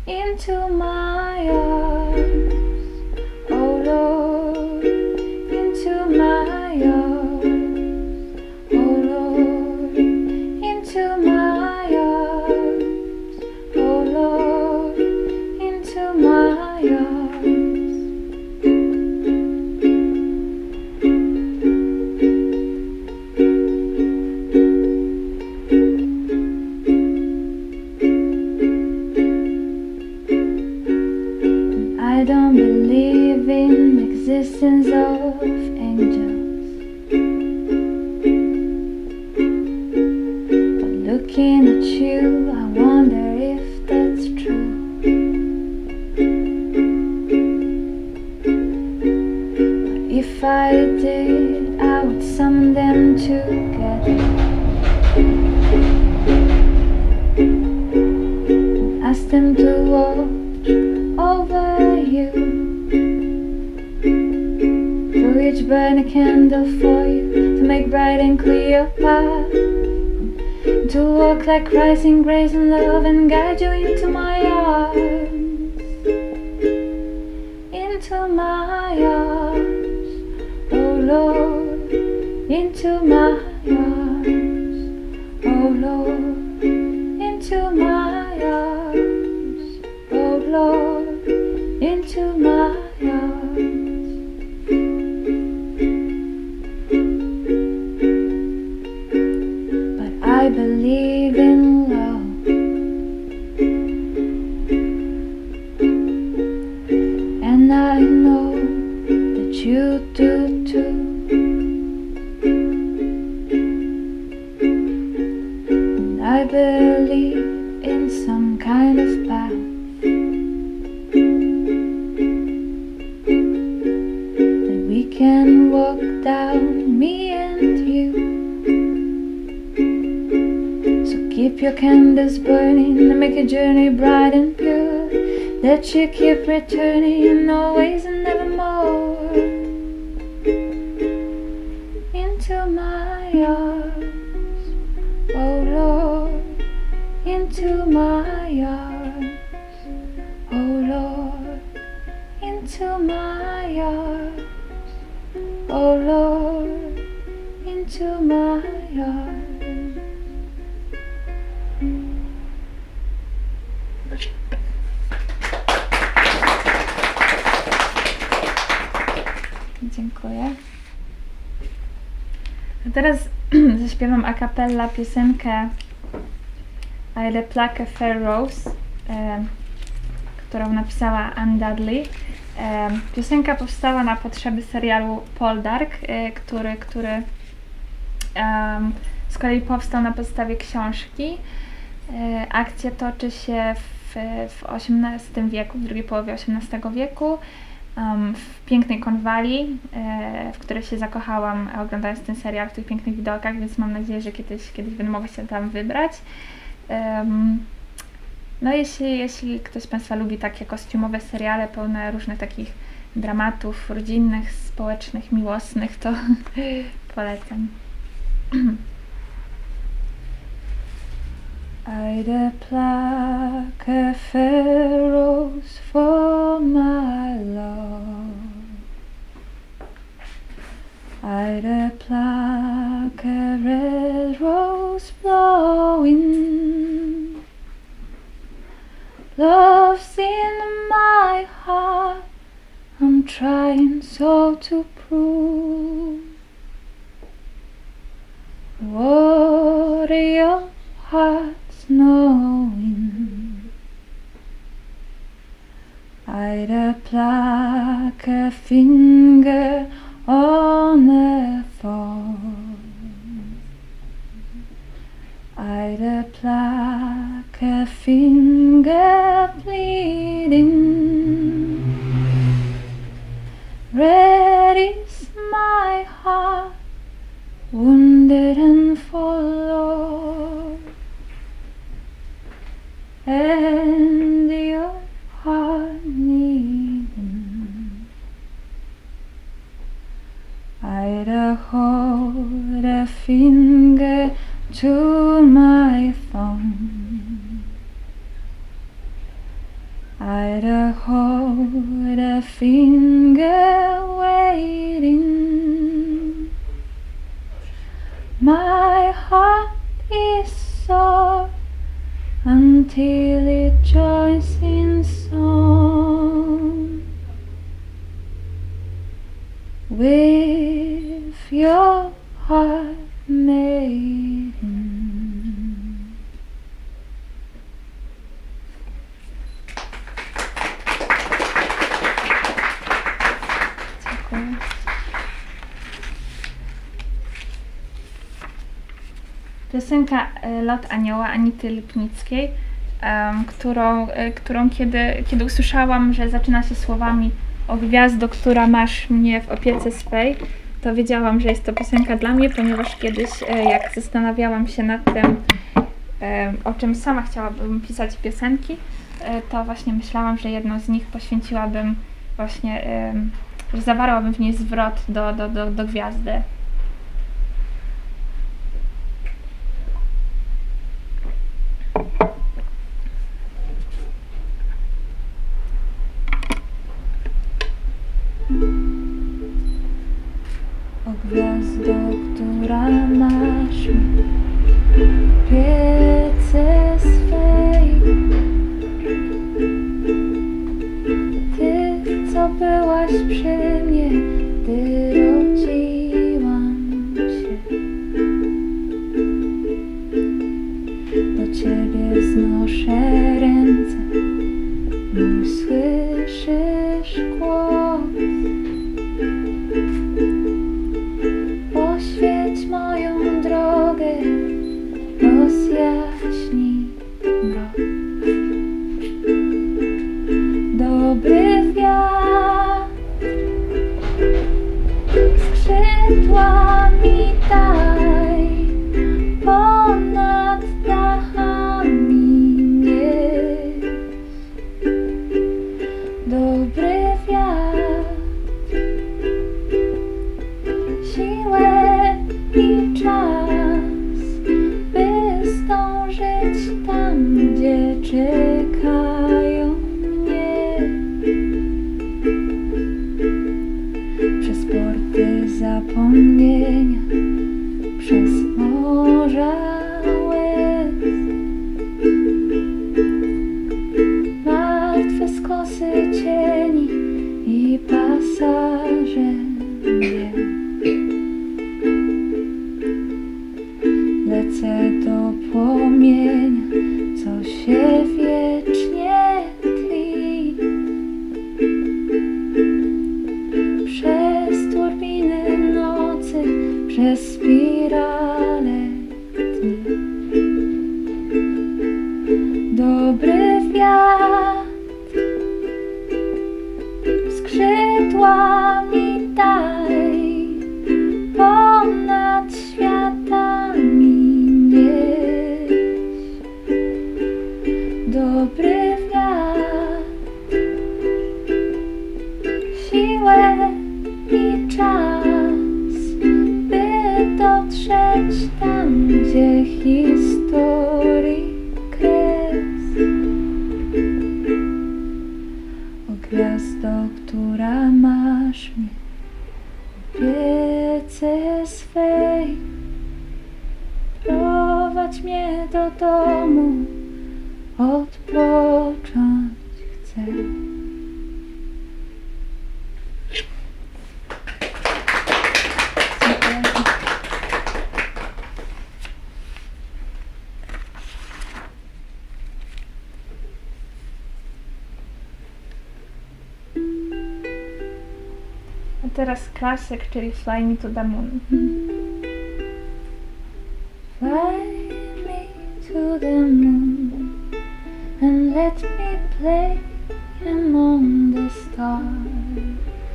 into my arms, oh Lord, into my arms, oh Lord, into my arms, oh Lord, into my arms. I don't believe in the existence of angels, but looking at you, I wonder if that's true. But if I did, I would summon them together and ask them to watch over you, through each burn a candle for you, to make bright and clear your path, to walk like rising grace and love and guide you into my arms, into my arms, oh Lord, into my arms, oh Lord, into my arms, oh Lord, into my arms. But I believe in love, and I know that you do too. And I believe in some kind of path that we can walk down, me and you. So keep your candles burning and make your journey bright and pure, that you keep returning always and evermore, into my arms, oh Lord, into my arms, oh Lord, into my arms, oh Lord, into my arms. Dziękuję. A teraz zaśpiewam a cappella piosenkę I Le Plaque Fair Rose, e, którą napisała Anne Dudley. E, piosenka powstała na potrzeby serialu Poldark, e, który, który e, z kolei powstał na podstawie książki. E, akcja toczy się w, w osiemnastym wieku, w drugiej połowie osiemnastego wieku, um, w pięknej Cornwalli, e, w której się zakochałam oglądając ten serial, w tych pięknych widokach, więc mam nadzieję, że kiedyś, kiedyś będę mogła się tam wybrać. Um, no jeśli, jeśli ktoś z Państwa lubi takie kostiumowe seriale pełne różnych takich dramatów rodzinnych, społecznych, miłosnych, to polecam. I le plaque a fair rose for my love, I le plaque a red rose blowing. Love's in my heart, I'm trying so to prove. What are your hearts knowing? I'd a pluck a finger on a thorn, I'd a pluck a finger bleeding. Red is my heart, wounded and forlorn, and your heart needing. I'd a hold a finger to my thumb, I'd a hold a finger waiting. My heart is sore until it joins in song with your heart, maiden. Dziękuję. Piosenka e, Lot Anioła Anity Lipnickiej, em, którą, e, którą kiedy, kiedy usłyszałam, że zaczyna się słowami: o gwiazdo, która masz mnie w opiece swej, to wiedziałam, że jest to piosenka dla mnie, ponieważ kiedyś, e, jak zastanawiałam się nad tym, e, o czym sama chciałabym pisać piosenki, e, to właśnie myślałam, że jedną z nich poświęciłabym właśnie, e, że zawarłabym w niej zwrot do, do, do, do gwiazdy. O gwiazdo, która masz mnie w opiece swej, Ty, co byłaś przy mnie, gdy rodziłam się, do Ciebie wznoszę ręce, mój słyszysz głos. Oświeć moją drogę, rozjaśnij mrok. Dobry wiatr skrzydła mi daj, ponad dachami nieś. Dobry wiatr, siłę i czas, by zdążyć tam, gdzie czekają mnie. Przez porty zapomnienia, przez morza łez, martwe skosy cieni i pasaże mnie. Lecę do płomienia, co się wiecznie tli. Przez turbiny nocy, przez spirale dni. Dobry wiatr skrzydła mi daj, ponad światami nieś. Dobry wiatr, siłę i czas, by dotrzeć tam, gdzie historii kres. O gwiazdo, która masz mnie w opiece swej, prowadź mnie do domu, odpocząć chcę. Dziękuję. A teraz klasyk, czyli Fly Me to the Moon. Fly me to the moon and let me play among the stars.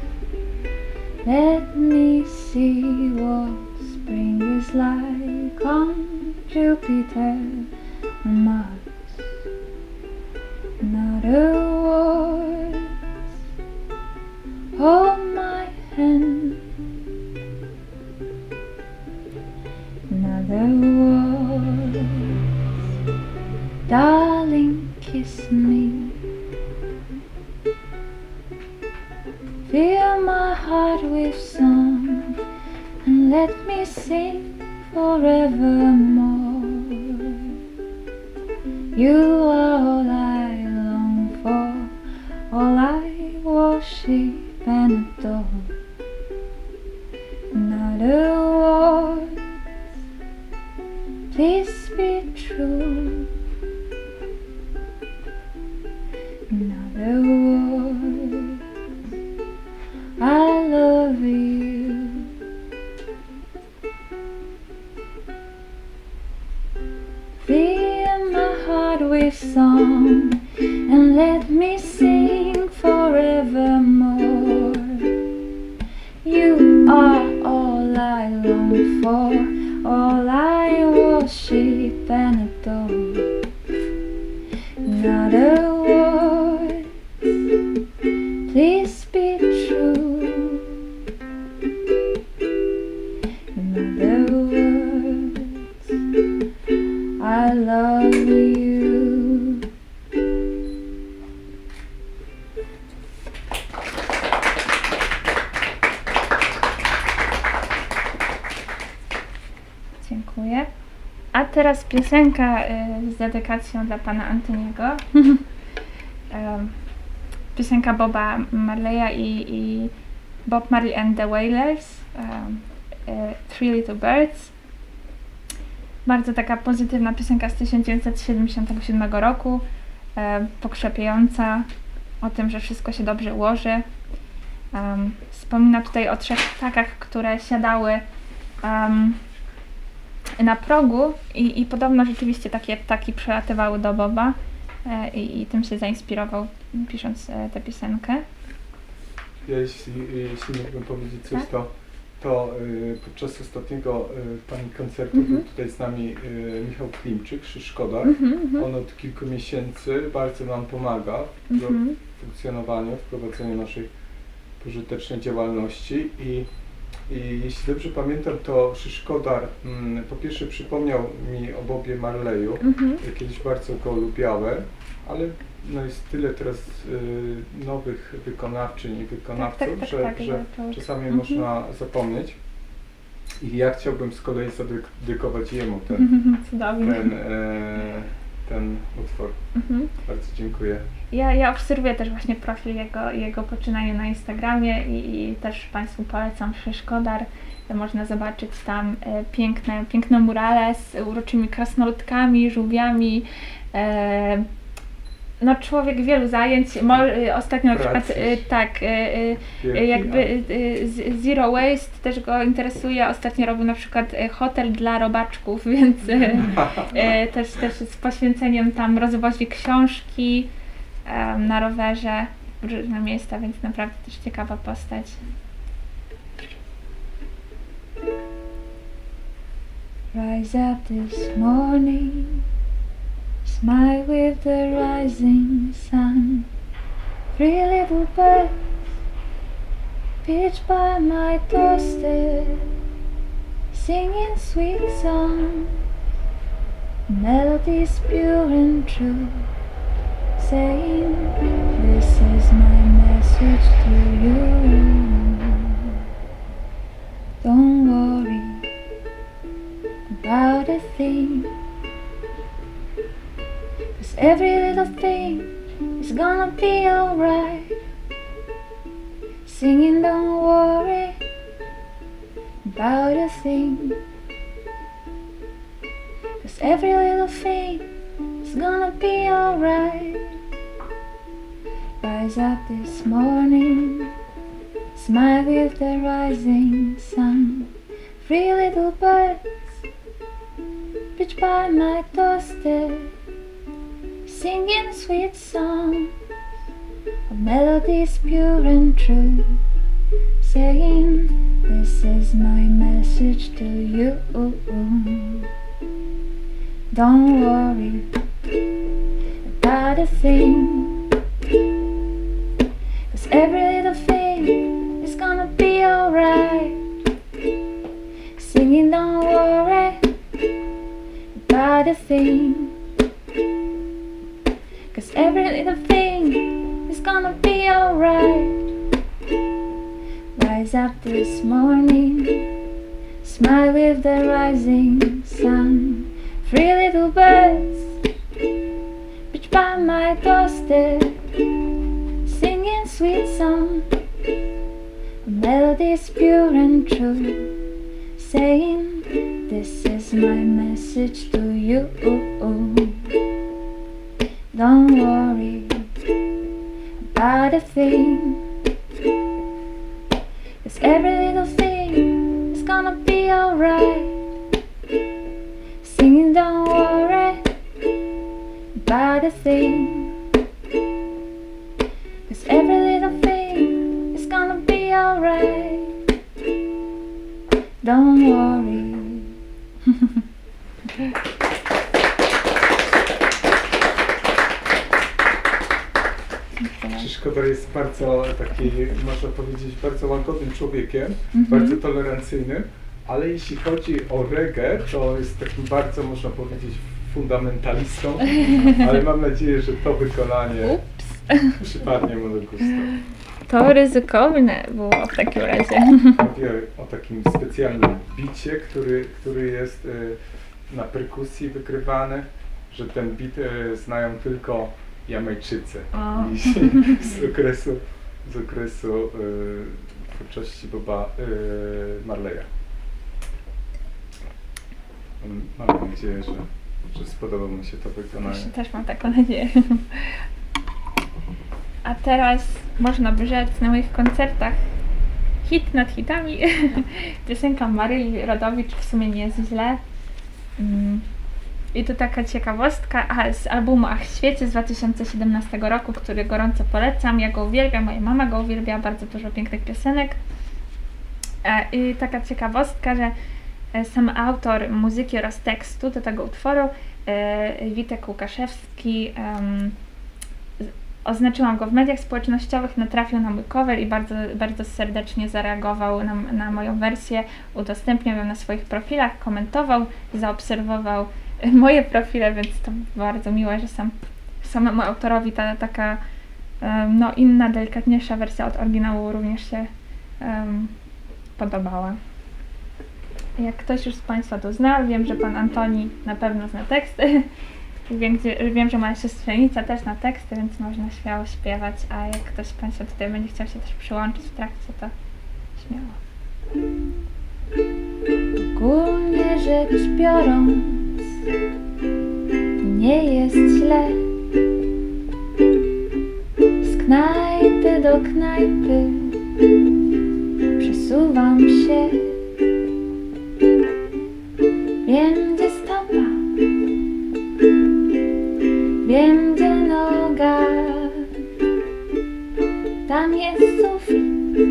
Let me see what spring is like on Jupiter and Mars. Not a word, hold my hand. Another word, darling, kiss me. Fill my heart with song and let me sing forevermore. You are all I long for, all I worship and adore. Not a word, please be true. Not a word, I love you. Fill my heart with song and let me sing forevermore. You are all I long for, all I worship and adore. Not a word, please be true. Not a word, I love you. Dziękuję. A teraz piosenka y, z dedykacją dla pana Antoniego. um, piosenka Boba Marleya i, i Bob Marley and the Wailers. Um, y, Three Little Birds. Bardzo taka pozytywna piosenka z tysiąc dziewięćset siedemdziesiątego siódmego roku. Y, pokrzepiająca o tym, że wszystko się dobrze ułoży. Um, wspomina tutaj o trzech ptakach, które siadały um, na progu i, i podobno rzeczywiście takie ptaki przelatywały do Boba e, i, i tym się zainspirował, pisząc e, tę piosenkę. Ja jeśli, jeśli mógłbym powiedzieć coś, Tak? to, to y, podczas ostatniego y, pani koncertu Mhm. był tutaj z nami y, Michał Klimczyk, Szyszkoda. Mhm, mhm. On od kilku miesięcy bardzo nam pomaga w Mhm. funkcjonowaniu, w prowadzeniu naszej pożytecznej działalności i I jeśli dobrze pamiętam, to Szyszkodar mm, po pierwsze przypomniał mi o Bobie Marleyu. Mhm. Ja kiedyś bardzo go lubiałem, ale no jest tyle teraz y, nowych wykonawczyń i wykonawców, Tak, tak, tak, że, tak, że że to- czasami mhm. można zapomnieć. I ja chciałbym z kolei zadedykować jemu ten, Mhm, cudownie. ten, e, ten utwór. Mhm. Bardzo dziękuję. Ja, ja obserwuję też właśnie profil jego, jego poczynania na Instagramie i, i też Państwu polecam Szyszkodar. Można zobaczyć tam e, piękne, piękne murale z uroczymi krasnoludkami, żółwiami. E, no człowiek wielu zajęć. Mo, e, ostatnio na przykład Pracy. e, tak, e, e, Wielki, jakby e, z- Zero Waste też go interesuje. Ostatnio robił na przykład e, hotel dla robaczków, więc e, e, też, też z poświęceniem tam rozwozi książki em, na rowerze w różne miejsca, więc naprawdę też ciekawa postać. Rise up this morning, smile with the rising sun. Three little birds pitch by my doorstep, singing sweet songs, melodies pure and true, saying, this is my message to you. Don't worry about a thing, 'cause every little thing is gonna be alright. Singing, don't worry about a thing, 'cause every little thing is gonna be alright. Rise up this morning, smile with the rising sun. Three little birds pitch by my doorstep, singing sweet songs of melodies pure and true, saying, this is my message to you. Don't worry about a thing, 'cause every little thing is gonna be alright. Singing, don't worry about a thing, 'cause every little thing is gonna be alright. Gaze up this morning, smile with the rising sun. Three little birds perch by my doorstep, singing sweet song. Melodies pure and true, saying this is my message to you. Don't worry about a thing, 'cause every little thing is gonna be alright. Singing don't worry about a thing, 'cause every little thing is gonna be alright. Don't worry. Szkoda jest bardzo taki, można powiedzieć, bardzo łagodnym człowiekiem, Mhm. bardzo tolerancyjnym, ale jeśli chodzi o reggae, to jest takim bardzo, można powiedzieć, fundamentalistą, ale mam nadzieję, że to wykonanie przypadnie mu do gustu. To ryzykowne było w takim razie. Mówię o takim specjalnym bicie, który, który jest y, na perkusji wykrywany, że ten bit y, znają tylko Jamajczycy O. I z okresu, z okresu y, twórczości Boba y, Marleya. Mam nadzieję, że, że spodoba mu się to wykonanie. Też, też mam taką nadzieję. A teraz można by rzec na moich koncertach hit nad hitami. Piosenka Maryli Rodowicz w sumie nie jest źle. Mm. I tu taka ciekawostka a, z albumu Ach Świecie z dwa tysiące siedemnastego roku, który gorąco polecam. Ja go uwielbiam, moja mama go uwielbia, bardzo dużo pięknych piosenek. E, I taka ciekawostka, że e, sam autor muzyki oraz tekstu do tego utworu, e, Witek Łukaszewski, em, oznaczyłam go w mediach społecznościowych, natrafił na mój cover i bardzo, bardzo serdecznie zareagował na, na moją wersję, udostępniał ją na swoich profilach, komentował, zaobserwował moje profile, więc to bardzo miłe, że sam, samemu autorowi ta taka um, no, inna, delikatniejsza wersja od oryginału również się um, podobała. Jak ktoś już z Państwa to zna, wiem, że Pan Antoni na pewno zna teksty. Wiem, gdzie, wiem, że moja siostrzenica też zna teksty, więc można śmiało śpiewać, a jak ktoś z Państwa tutaj będzie chciał się też przyłączyć w trakcie, to śmiało. Ogólnie rzecz biorąc, nie jest źle. Z knajpy do knajpy przesuwam się. Wiem, gdzie stopa, wiem, gdzie noga. Tam jest sufit,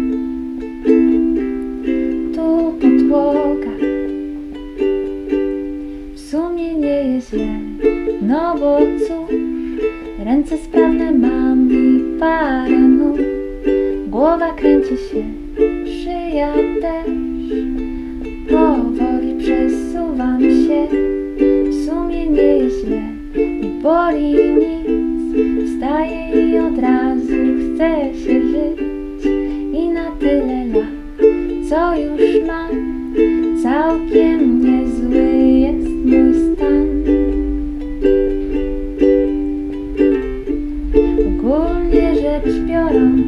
tu podłoga. W sumie nie jest źle, no bo cóż, ręce sprawne mam i parę nóg. Głowa kręci się, szyja też. Powoli przesuwam się, w sumie nie jest źle, nie boli nic. Wstaję i od razu chce się żyć. I na tyle lat, co już mam, całkiem niezły jest mój stan. Ogólnie rzecz biorąc,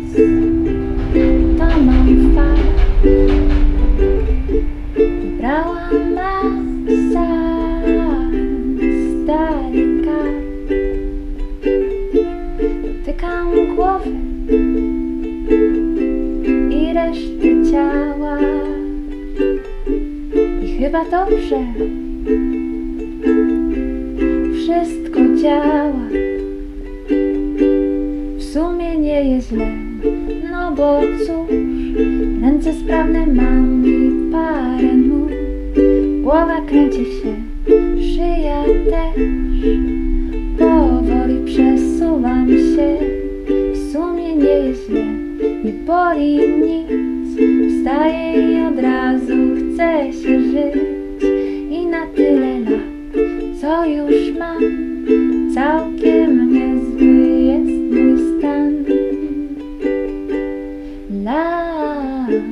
to mam fakt. Brałam masa stary kart. Dotykam głowy i reszty ciała. I chyba dobrze wszystko działa. W sumie nie jest źle, no bo cóż, ręce sprawne mam i parę nóg. Głowa kręci się, szyja też. Powoli przesuwam się, w sumie nie jest źle, nie boli nic. Wstaję i od razu chce się żyć. I na tyle lat, co już mam, całkiem niezły jest mój stan. La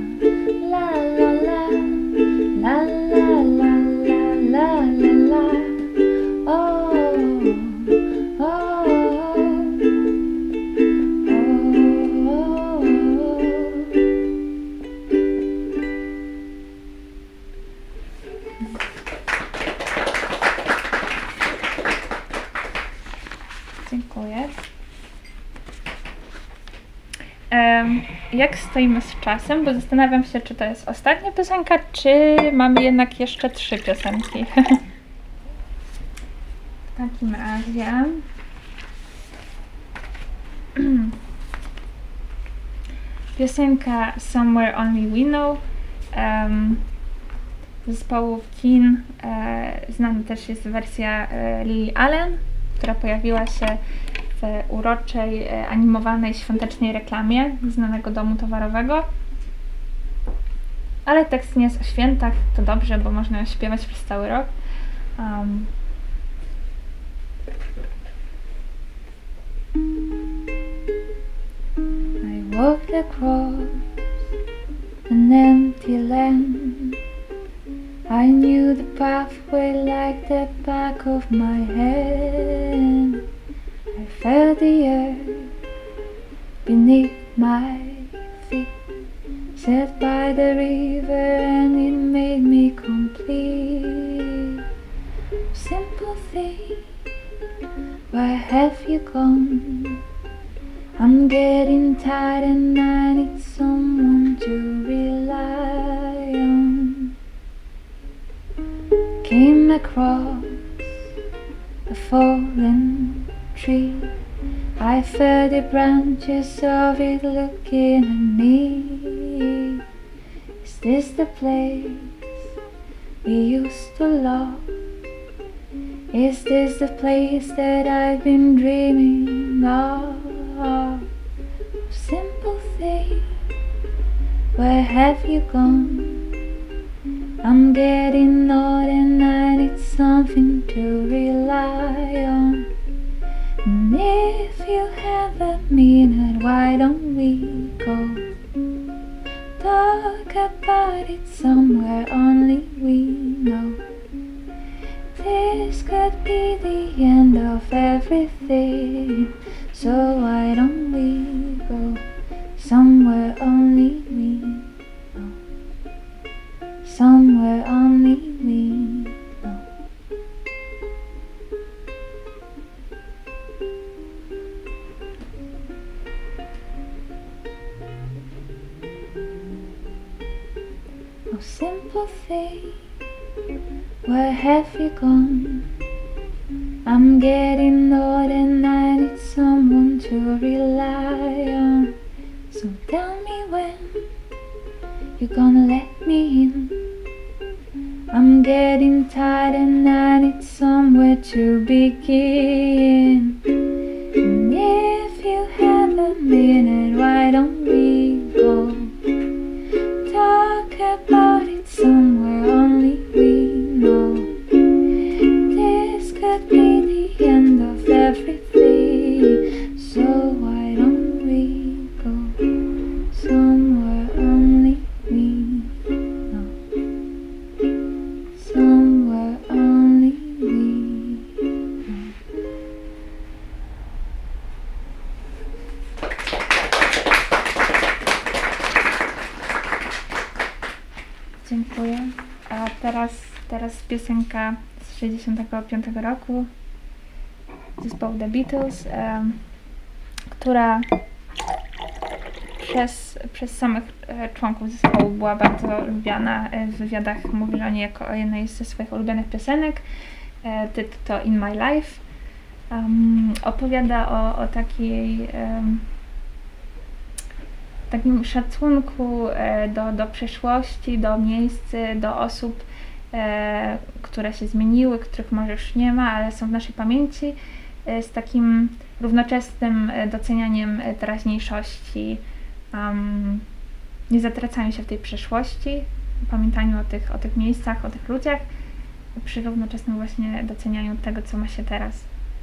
Em, jak stoimy z czasem, bo zastanawiam się, czy to jest ostatnia piosenka, czy mamy jednak jeszcze trzy piosenki. W takim razie... Piosenka Somewhere Only We Know um, zespołu Kin. E, znana też jest wersja e, Lily Allen, która pojawiła się w uroczej, e, animowanej, świątecznej reklamie znanego domu towarowego. Ale tekst nie jest o świętach, to dobrze, bo można ją śpiewać przez cały rok. Um, I walked across an empty land. I knew the pathway like the back of my hand. I felt the earth beneath my feet, sat by the river and it made me complete. Simple thing, where have you gone? I'm getting tired and I need someone to rely on. Came across a fallen tree. I felt the branches of it looking at me. Is this the place we used to love? Is this the place that I've been dreaming of? Simple thing, where have you gone? I'm getting old and I need something to rely on. And if you have a minute, why don't we go talk about it somewhere only we know? This could be the end of everything, so why don't we go somewhere only we know? Somewhere only we know. Oh, simple thing, where have you gone? I'm getting old and I need someone to rely on. So tell me when you're gonna let me in. I'm getting tired and I need somewhere to begin. And if you have a minute, why don't we go talk about it somewhere only we know? This could be the end of everything, so why don't we go somewhere only we know? Somewhere only we know. Dziękuję. A teraz, teraz piosenka z sześćdziesiątego piątego roku zespołu The Beatles, um, która przez, przez samych e, członków zespołu była bardzo lubiana. E, w wywiadach mówili o niej jako o jednej ze swoich ulubionych piosenek. E, tytuł to In My Life. Um, opowiada o, o takiej um, takim szacunku e, do, do przeszłości, do miejsc, do osób, e, które się zmieniły, których może już nie ma, ale są w naszej pamięci, e, z takim równoczesnym e, docenianiem e, teraźniejszości, um, nie zatracaniu się w tej przeszłości, pamiętaniu o tych, o tych miejscach, o tych ludziach, przy równoczesnym właśnie docenianiu tego, co ma się teraz.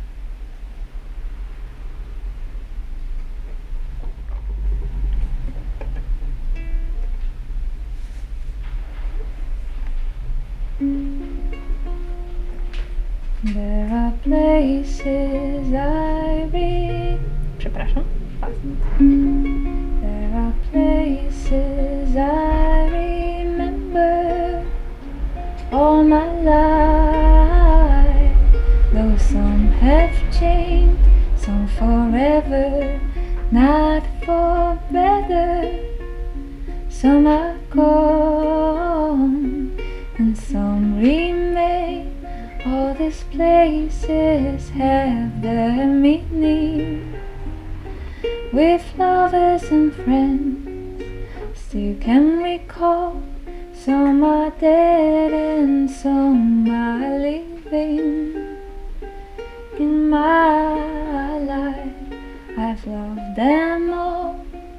There are places I read. Przepraszam. There are places I remember all my life. Though some have changed, some forever. Now not for better. Some are gone and some remain. All these places have their meaning. With lovers and friends still can recall. Some are dead and some are living. In my life I've loved them all.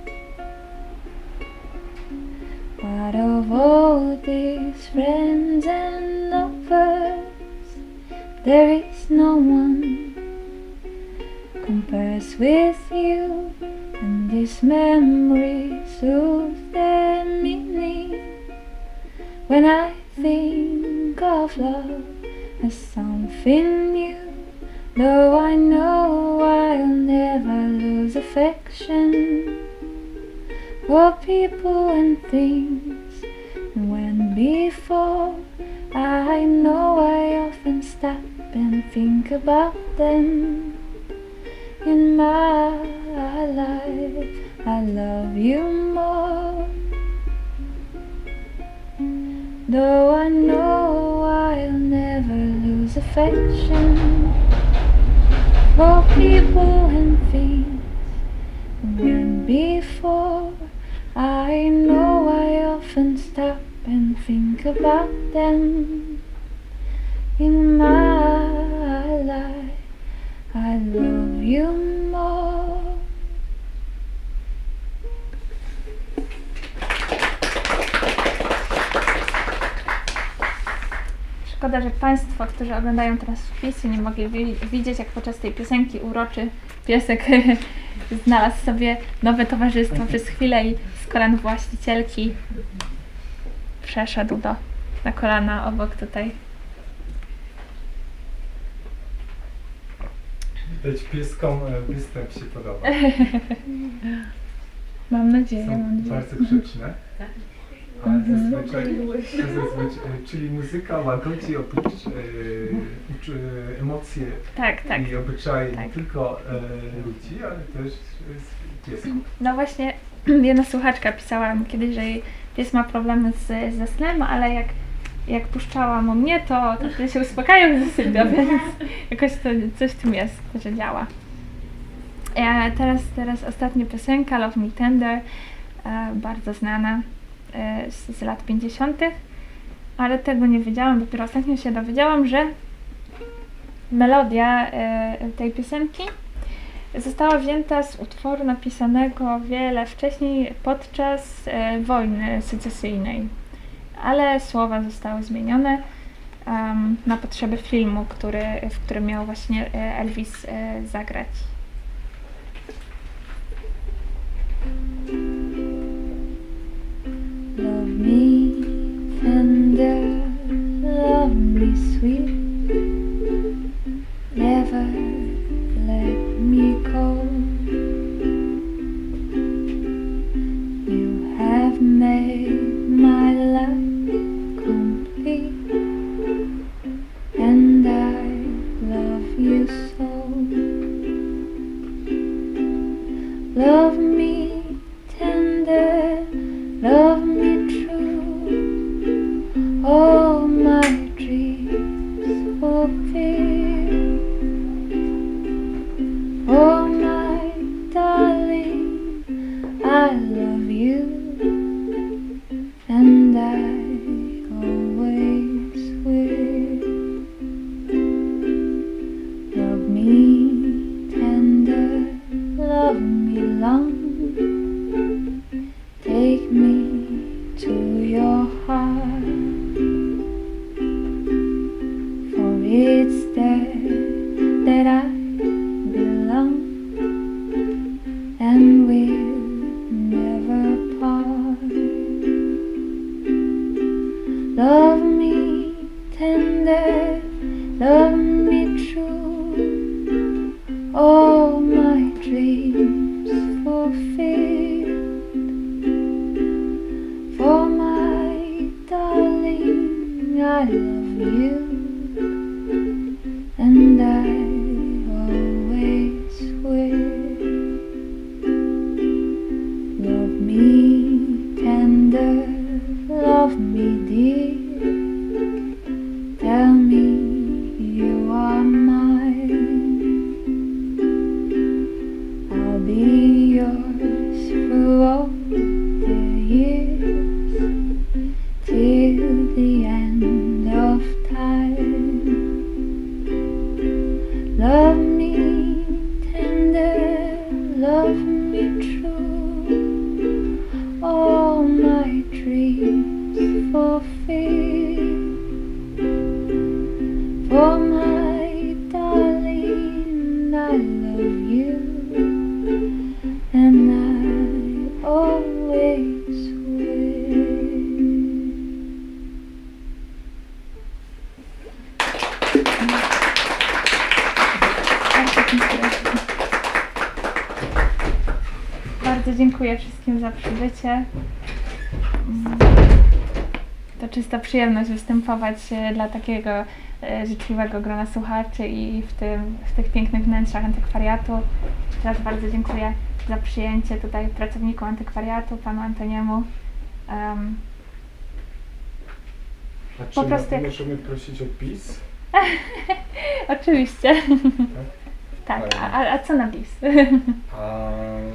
But of all these friends and lovers, there is no one compares with you. And these memories lose their meaning when I think of love as something new. Though I know I'll never lose affection for people and things. And when before I know I often stop and think about them. In my life I love you more. Though I know I'll never lose affection for people and things. And when before I know I often stop and think about them. In my life I love you more. Szkoda, że Państwo, którzy oglądają teraz wpisy, nie mogli wi- widzieć, jak podczas tej piosenki uroczy piesek znalazł sobie nowe towarzystwo przez chwilę i z kolan właścicielki przeszedł do, na kolana obok tutaj. Widać pieskom e, występ się podoba. Mam nadzieję, Są mam nadzieję. bardzo grzeczne. Ale zazwyczaj, zazwyczaj, czyli muzyka łagodzi oprócz, e, ucz, e, emocje Tak, tak. i obyczaje Tak. nie tylko e, ludzi, ale też e, piesków. No właśnie, jedna słuchaczka pisała mi kiedyś, że jej pies ma problemy z, ze snem, ale jak, jak puszczałam u mnie, to, to wtedy się uspokajał i zasypia, więc jakoś to, coś w tym jest, że działa. E, teraz, teraz ostatnia piosenka, Love Me Tender, e, bardzo znana e, z, z lat pięćdziesiątych, ale tego nie wiedziałam, dopiero ostatnio się dowiedziałam, że melodia e, tej piosenki została wzięta z utworu napisanego wiele wcześniej podczas e, wojny secesyjnej, ale słowa zostały zmienione um, na potrzeby filmu, który, w którym miał właśnie e, Elvis e, zagrać. Love me tender, love me sweet, never let me go. You have made my life complete, and I love you so. Love me tender, love me true, all my dreams fulfill. Oh my darling, I love you, and I always will. Love me tender, love me long, take me to your heart, for it's there that I belong, and we'll never part. Love me tender, love me true, all my dreams fulfilled. For my darling, I love you, and I always will. me true, all my dreams fulfill. For my darling, I love you, and I always will. Bardzo dziękuję wszystkim za przybycie. To czysta przyjemność występować e, dla takiego e, życzliwego grona słuchaczy i w, tym, w tych pięknych wnętrzach antykwariatu. Jeszcze raz bardzo dziękuję za przyjęcie tutaj pracowniku antykwariatu, panu Antoniemu. Um, A Po czy prostu mo- jak- możemy prosić o bis? oczywiście. Tak, Fajnie. a, a, a co na bis? A,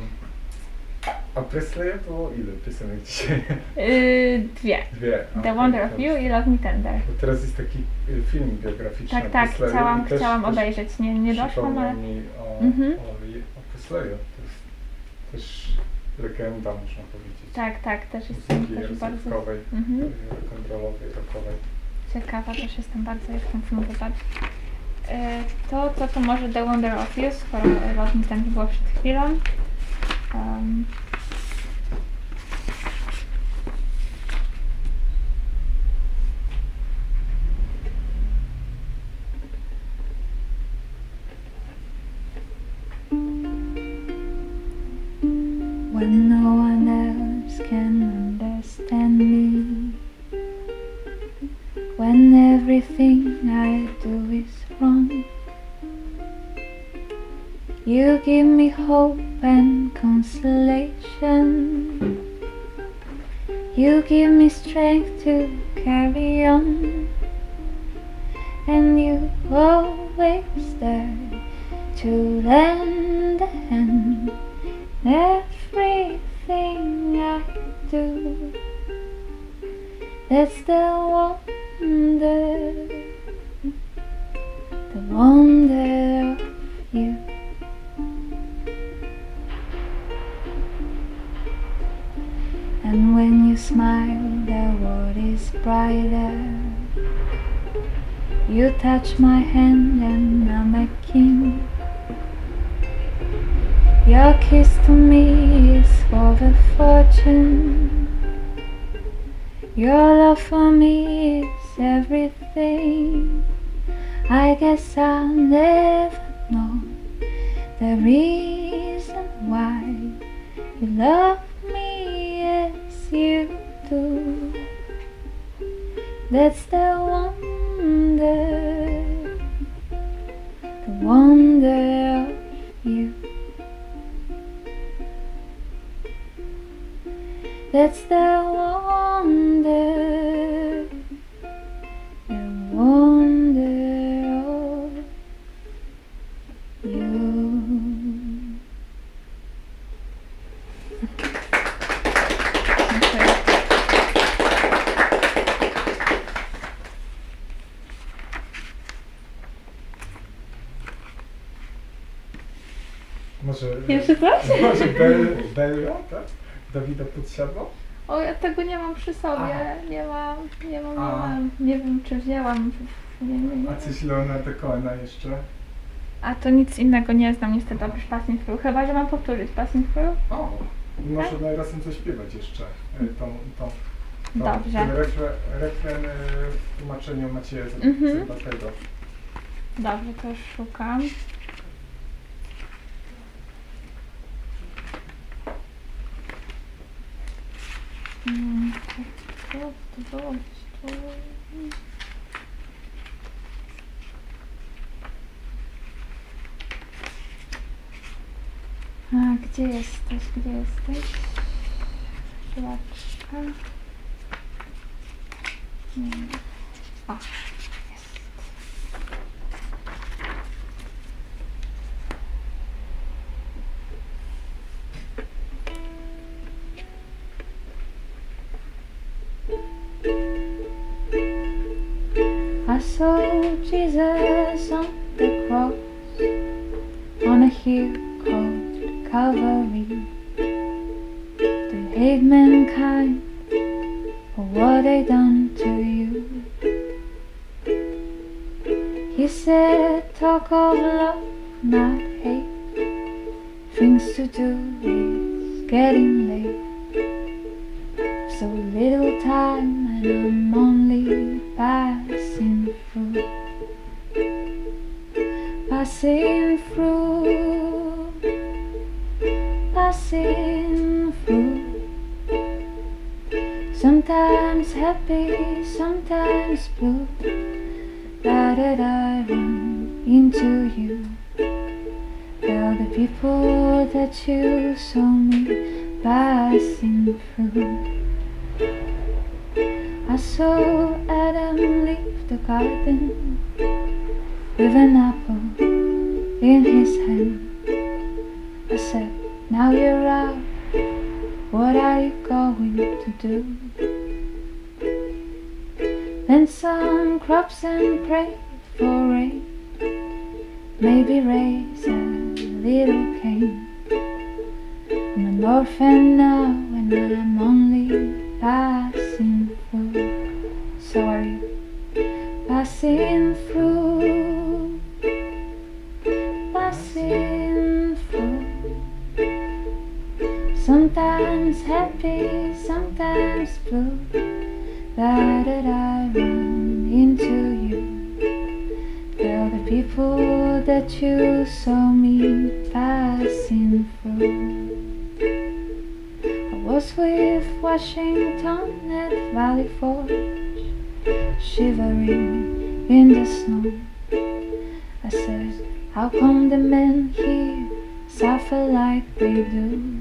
a Presleya było ile piosenek dzisiaj? Yy, dwie. Dwie. The Okej, Wonder of dobrze. You i Love Me Tender. Bo teraz jest taki y, film biograficzny Tak, o tak, Presleyu chciałam, i też- chciałam też obejrzeć. Nie, nie doszłam, przypomniał ale... mi o, Mhm. o, je- o Presleyu. To jest też legenda, można powiedzieć. Tak, tak, też jestem Muzyki też bardzo rozrywkowej, Mhm. y, rock'n'rollowej, rockowej. ciekawa, też jestem bardzo, jak ten film wypadł. E, To, co to może The Wonder of You, skoro Love Me Tender było przed chwilą. Um, When no one else can understand me, when everything I do is wrong, you give me hope and consolation. You give me strength to carry on, and you always there to lend a hand. Everything I do, that's the wonder, the wonder of you. And when you smile, the world is brighter. You touch my hand and I'm a king. Your kiss to me is worth a fortune. Your love for me is everything. I guess I'll never know the reason why you love me as you do. That's the wonder, the wonder of you. That's the wonder, the wonder of you. Dziękuję. Może, Jeszcze coś? może Bel, Bella, tak? Dawida Podsiadło? O, ja tego nie mam przy sobie. A. Nie mam, nie mam, nie A. mam. Nie wiem, czy wzięłam. Nie, nie, nie. A coś Leonarda Cohena jeszcze? A to nic innego nie znam niestety oprócz Passing Through. Chyba, że mam powtórzyć Passing Through. O, może Tak? tak? razem zaśpiewać jeszcze e, tą, tą, tą Dobrze. ten refren, refren e, w tłumaczeniu Macieja Mhm. Zębatego. Dobrze, to już szukam. Mm, to, to było gdzieś tu. A, gdzie jesteś? Gdzie jesteś? Chwileczkę. Mm. O, jest. I saw Jesus on the cross, on a hill called Calvary. hate mankind for what they done to you. He said, talk of love, not hate. Things to do is getting late. So little time and I'm only passing through. Passing through. Passing through. Sometimes happy, sometimes blue. That I run into you. Tell the people that you saw me passing through. I saw Adam leave the garden with an apple in his hand. I said, now you're out, what are you going to do? Plant some crops and pray for rain, maybe raise a little cane. I'm an orphan now and I'm only passing through. So are you. Passing through. Passing through. Sometimes happy, sometimes blue. That I run into you. Tell the people that you saw me passing through. I was with Washington at Valley Forge, shivering in the snow. I said, how come the men here suffer like we do?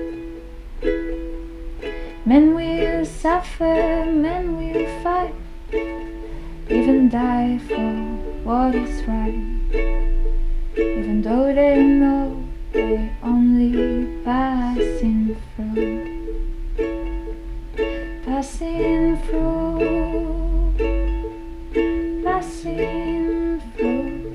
Men will suffer, men will fight, even die for what is right, even though they know they're only passing through. Passing through, passing through.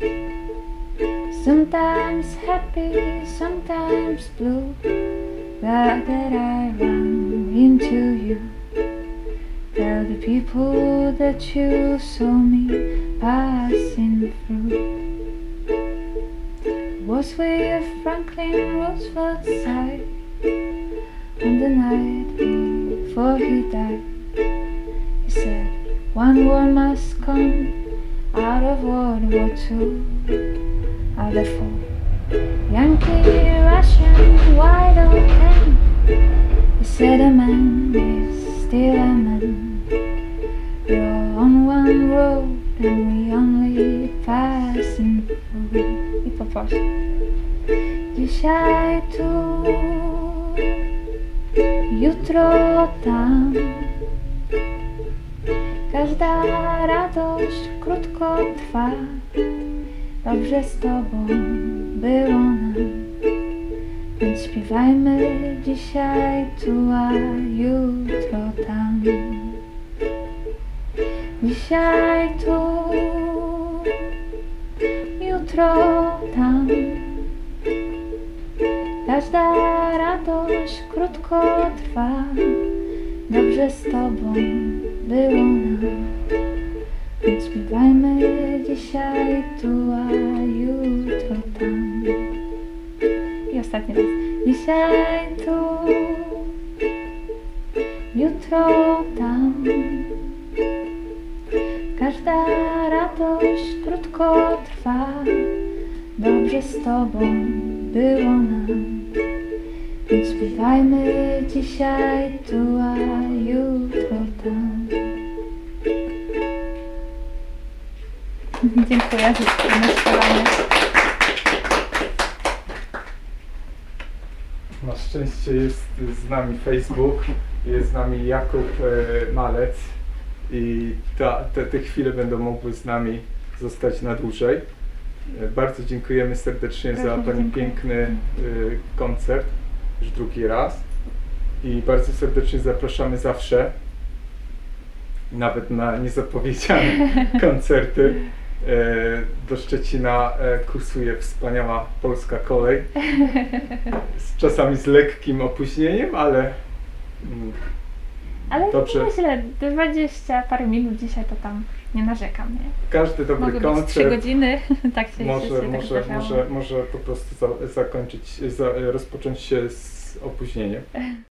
Sometimes happy, sometimes blue. Glad that I run into you. Tell the people that you saw me passing through. I was with Franklin Roosevelt's side on the night before he died. He said, one war must come out of World War Two. Are the four Yankee, Russian, wide open. He said a man is still a man. You're on one road and we only passing through. I poproszę. Dzisiaj tu, jutro tam. Każda radość krótko trwa. Dobrze z tobą było nam, więc śpiewajmy dzisiaj tu, a jutro tam. Dzisiaj tu, jutro tam. Każda radość krótko trwa. Dobrze z tobą było nam, więc śpiewajmy dzisiaj tu, a jutro tam. I ostatni raz. Dzisiaj tu, jutro tam. Każda radość krótko trwa. Dobrze z tobą było nam, więc śpiewajmy dzisiaj tu, a jutro tam. Dziękuję za śpiewanie. Na szczęście jest z nami Facebook, jest z nami Jakub e, Malec i ta, te, te chwile będą mogły z nami zostać na dłużej. E, bardzo dziękujemy serdecznie Bardzo za Pani dziękuję. piękny e, koncert, już drugi raz. I bardzo serdecznie zapraszamy zawsze, nawet na niezapowiedziane koncerty. Do Szczecina kursuje wspaniała polska kolej, z, czasami z lekkim opóźnieniem, ale Mm, Ale Dobrze. myślę, dwadzieścia parę minut dzisiaj to tam nie narzekam, nie? Każdy dobry Mogły być trzy koncert godziny, tak się, może, się tak może, zdarzało. może, może po prostu za, zakończyć, za, rozpocząć się z opóźnieniem.